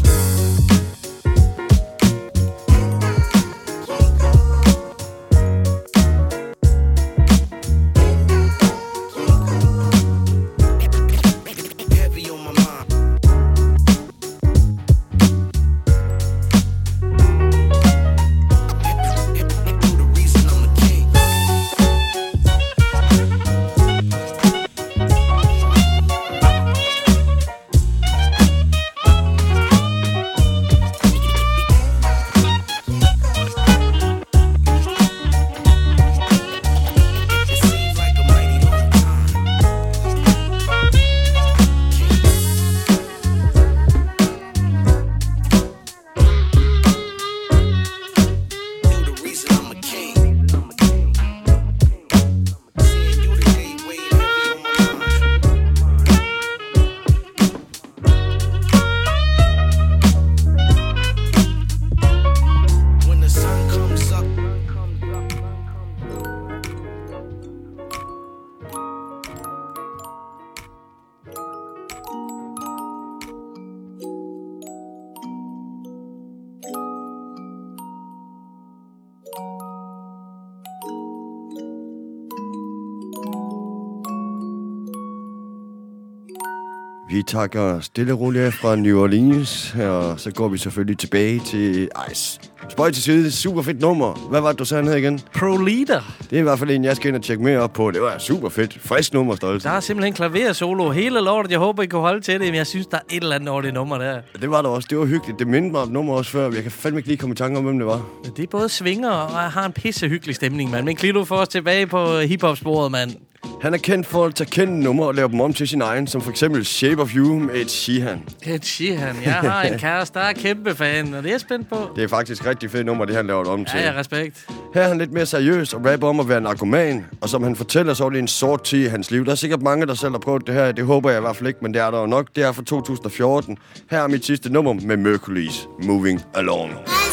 Vi takker stille og roligt af fra New Orleans, og så går vi selvfølgelig tilbage til... Ej, spøj til side. Super fedt nummer. Hvad var det, du sagde, han hed igen? Pro Leader. Det er i hvert fald en, jeg skal ind og tjekke mere op på. Det var super fedt. Frisk nummer, Stolte. Der er simpelthen klaver-solo hele lortet. Jeg håber, I kan holde til det, men jeg synes, der er et eller andet over det nummer der. Det var der også. Det var hyggeligt. Det mindte mig om nummer også før. Jeg kan fandme ikke lige komme i tanke om, hvem det var. Det er både svinger og har en pissehyggelig stemning, mand. Men Klito får os tilbage på hiphop-sporet, mand. Han er kendt for at tage kendte numre og lave dem om til sin egen, som for eksempel Shape of You med Ed Sheeran. Ed Sheeran. Jeg har en kæreste, der er kæmpe fan, og det er jeg spændt på. Det er faktisk rigtig fedt nummer, det han laver det om til. Ja, ja, respekt. Her er han lidt mere seriøs og rapper om at være narkoman, og som han fortæller, så er det en sort tid i hans liv. Der er sikkert mange, der selv har prøvet det her. Det håber jeg i hvert fald ikke, men det er der jo nok. Det er fra to tusind og fjorten. Her er mit sidste nummer med Mercury's Moving Along.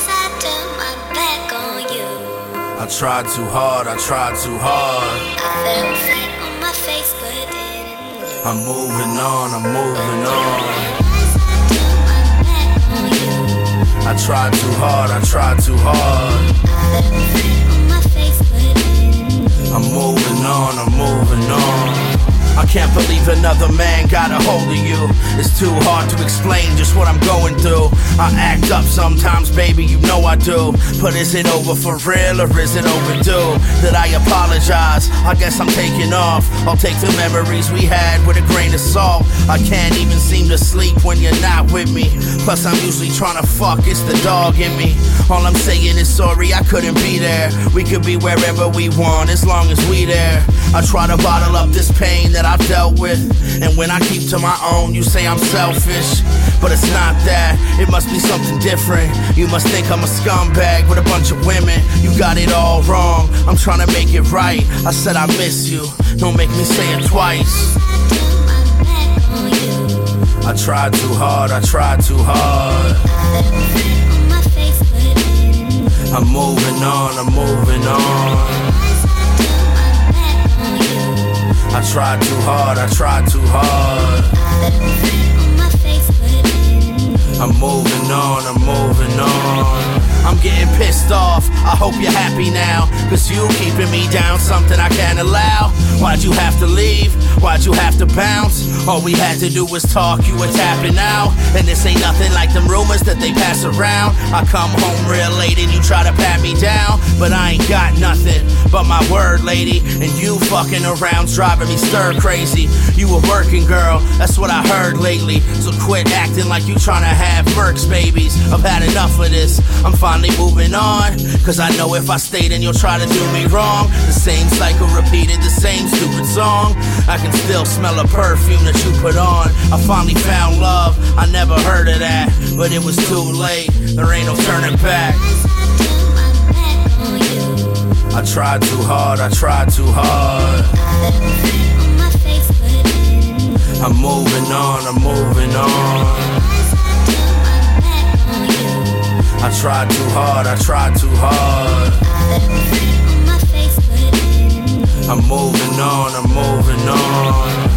I tried too hard, I tried too hard. I fell flat on my face, but it didn't. I'm moving on, I'm moving on. I tried too hard, I tried too hard. I fell flat on my face, but it didn't. I'm moving on, I'm moving on. I can't believe another man got a hold of you. It's too hard to explain just what I'm going through. I act up sometimes, baby, you know I do. But is it over for real or is it overdue? That I apologize, I guess I'm taking off. I'll take the memories we had with a grain of salt. I can't even seem to sleep when you're not with me. Plus I'm usually trying to fuck, it's the dog in me. All I'm saying is sorry, I couldn't be there. We could be wherever we want, as long as we there. I try to bottle up this pain that I've dealt with, and when I keep to my own, you say I'm selfish. But it's not that, it must be something different. You must think I'm a scumbag with a bunch of women. You got it all wrong, I'm trying to make it right. I said I miss you, don't make me say it twice. I tried too hard, I tried too hard. I'm moving on, I'm moving on. I tried too hard, I tried too hard. I'm moving on, I'm moving on. I'm getting pissed off, I hope you're happy now. Cause you keeping me down, something I can't allow. Why'd you have to leave? Why'd you have to bounce? All we had to do was talk, you were tapping out. And this ain't nothing like them rumors that they pass around. I come home real late and you try to pat me down, but I ain't got nothing but my word, lady. And you fucking around's driving me stir crazy. You a working girl, that's what I heard lately. So quit acting like you tryna have Mercs babies. I've had enough of this, I'm finally moving on. Cause I know if I stay then you'll try to do me wrong. The same cycle repeated, the same stupid song. I can still smell a perfume that you put on. I finally found love, I never heard of that. But it was too late, there ain't no turning back. I tried too hard, I tried too hard. I'm moving on, I'm moving on. I tried too hard, I tried too hard. I'm moving on, I'm moving on.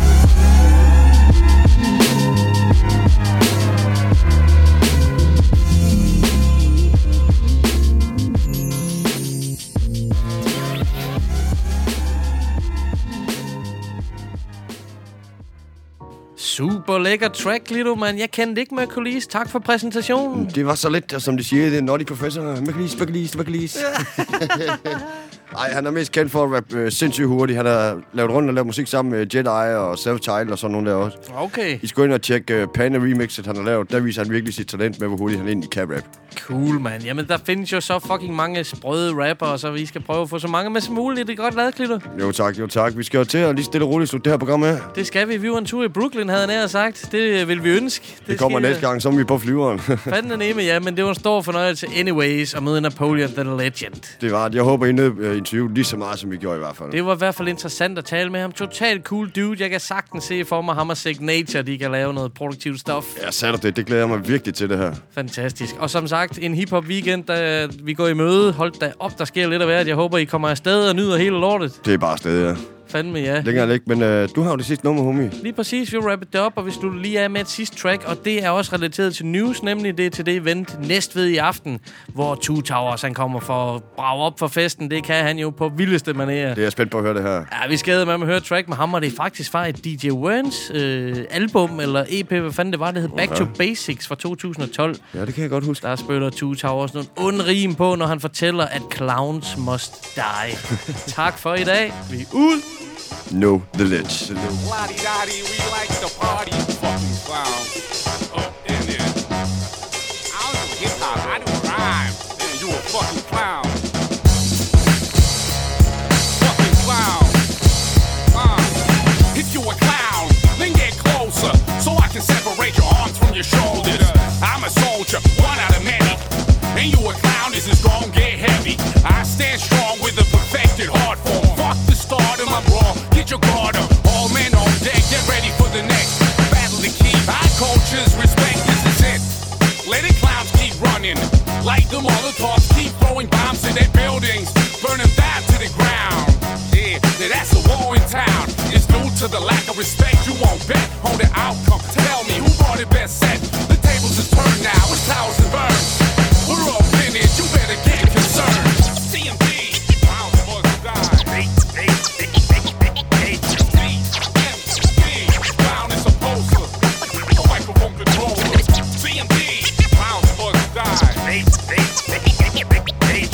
Super lækker track, Klito, man. Jeg kendte ikke Mercury's. Tak for præsentationen. Det var så lidt, som de siger, det er Naughty Professor. Mercury's, Mercury's, Mercury's. Nej, han er mest kendt for at rappe øh, sindssygt hurtigt. Han har lavet rundt og lavet musik sammen med Jedi og Self-Titled og sådan nogle der også. Okay. I skal gå ind og tjekke øh, Pana Remixet, han har lavet. Der viser han virkelig sit talent med, hvor hurtigt han egentlig kan rap. Cool, man. Jamen, der findes jo så fucking mange sprøde rapper, så vi skal prøve at få så mange med som muligt. Det er godt lavet, Klito. Jo tak, jo tak. Vi skal jo til at lige stille og roligt slutte det her program af. Det skal vi. Vi var en tur i Brooklyn, havde jeg nær sagt. Det vil vi ønske. Det, det kommer skal... næste gang, så er vi på flyveren. Fanden nemme, ja, men det var en stor fornøjelse anyways at møde Napoleon the Legend. Det var det. Jeg håber, I nød uh, interviewet lige så meget, som vi gjorde i hvert fald. Det var i hvert fald interessant at tale med ham. Totalt cool dude. Jeg kan sagtens se for mig ham og Signature, de kan lave noget produktivt stof. Ja, sagde du det. Det glæder mig virkelig til det her. Fantastisk. Og som sagt, en hiphop weekend, der vi går i møde. Hold da op, der sker lidt af hvert. Jeg håber, I kommer afsted og nyder hele lortet. Det er bare afsted, ja. Fandme, ja. Længere ikke, men øh, du har jo det sidste nummer, homie. Lige præcis, vi wrap it up, og hvis du lige er med et sidste track, og det er også relateret til news, nemlig det er til det event Næstved i aften, hvor Two Towers han kommer for at brage op for festen. Det kan han jo på vildeste manér. Det er jeg spændt på at høre det her. Ja, vi skal med at høre et track med ham, og det er faktisk fra et D J Werns øh, album, eller E P, hvad fanden det var, det hed Back to Basics fra to tusind og tolv. Ja, det kan jeg godt huske. Der spiller Two Towers nogle undrim på, når han fortæller, at clowns must die. Tak for i dag. Vi er ud. No, the ledge. The ledge. Lottie-dottie, we like to party, fucking clown. Up in there. I don't do hip-hop, I do rhyme. Man, you a fucking clown. Fucking clown. Uh, if you a clown, then get closer, so I can separate your arms from your shoulders. I'm a soldier, one out of many. And you a clown, this is gon' get heavy. I stand strong with a perfected hard form. Fuck the start of my brawl, get your guard up. All men on deck, get ready for the next battle to keep. High cultures, respect, this is it. Let the clowns keep running. Like the Molotovs, keep throwing bombs in their buildings. Burn them down to the ground. Yeah, that's a war in town. It's due to the lack of respect. You won't bet on the outcome. Tell me, who brought it best set? The tables is turned now, it's towers and burns. We're all finished, you better get concerned. C M D, clowns must die. Hey, hey, hey, hey, hey, hey, clown is a poser, a microphone controller. C M D, clowns must die. Hey, hey, hey, hey, hey,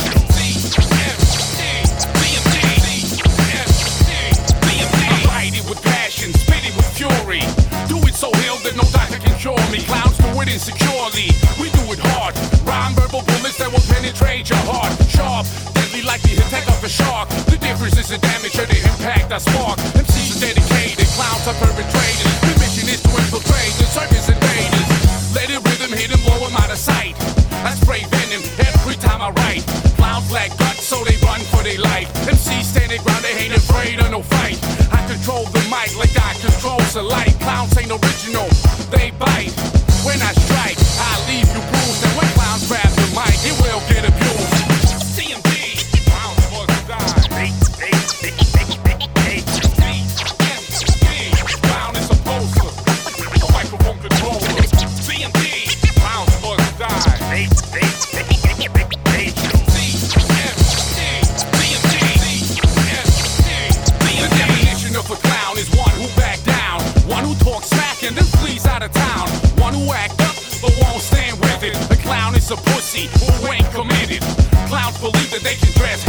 I write it with passion, spit it with fury. Do it so ill that no doctor can cure me. Clowns do it insecurely, we do it hard. Rhyme verbal bullets that will penetrate your heart. Sharp, deadly like the attack of a shark. The difference is the damage or the impact I spark. M Cs are dedicated, clowns are perpetrators. The mission is to infiltrate the circus invaders. Let the rhythm hit them, blow them out of sight. I spray venom every time I write. Clowns lack guts, so they run for their life. M Cs stand their ground, they ain't afraid of no fight. I control the mic like I control the light. Clowns ain't original, they bite. When I strike, I leave you bruised. And when clowns grab the mic, it will get abused. C M D, clowns must die. Hey, hey, hey, hey, hey, hey. C M D, clown is a poser, a microphone controller. C M D, clowns must die. Hey, hey, hey, hey, hey, hey. C M D, C M D, C M D. The definition of a clown is one who back down, one who talks smack and then flees out of town. One who act up but won't stand with it. A clown is a pussy who ain't committed. Clowns believe that they can dress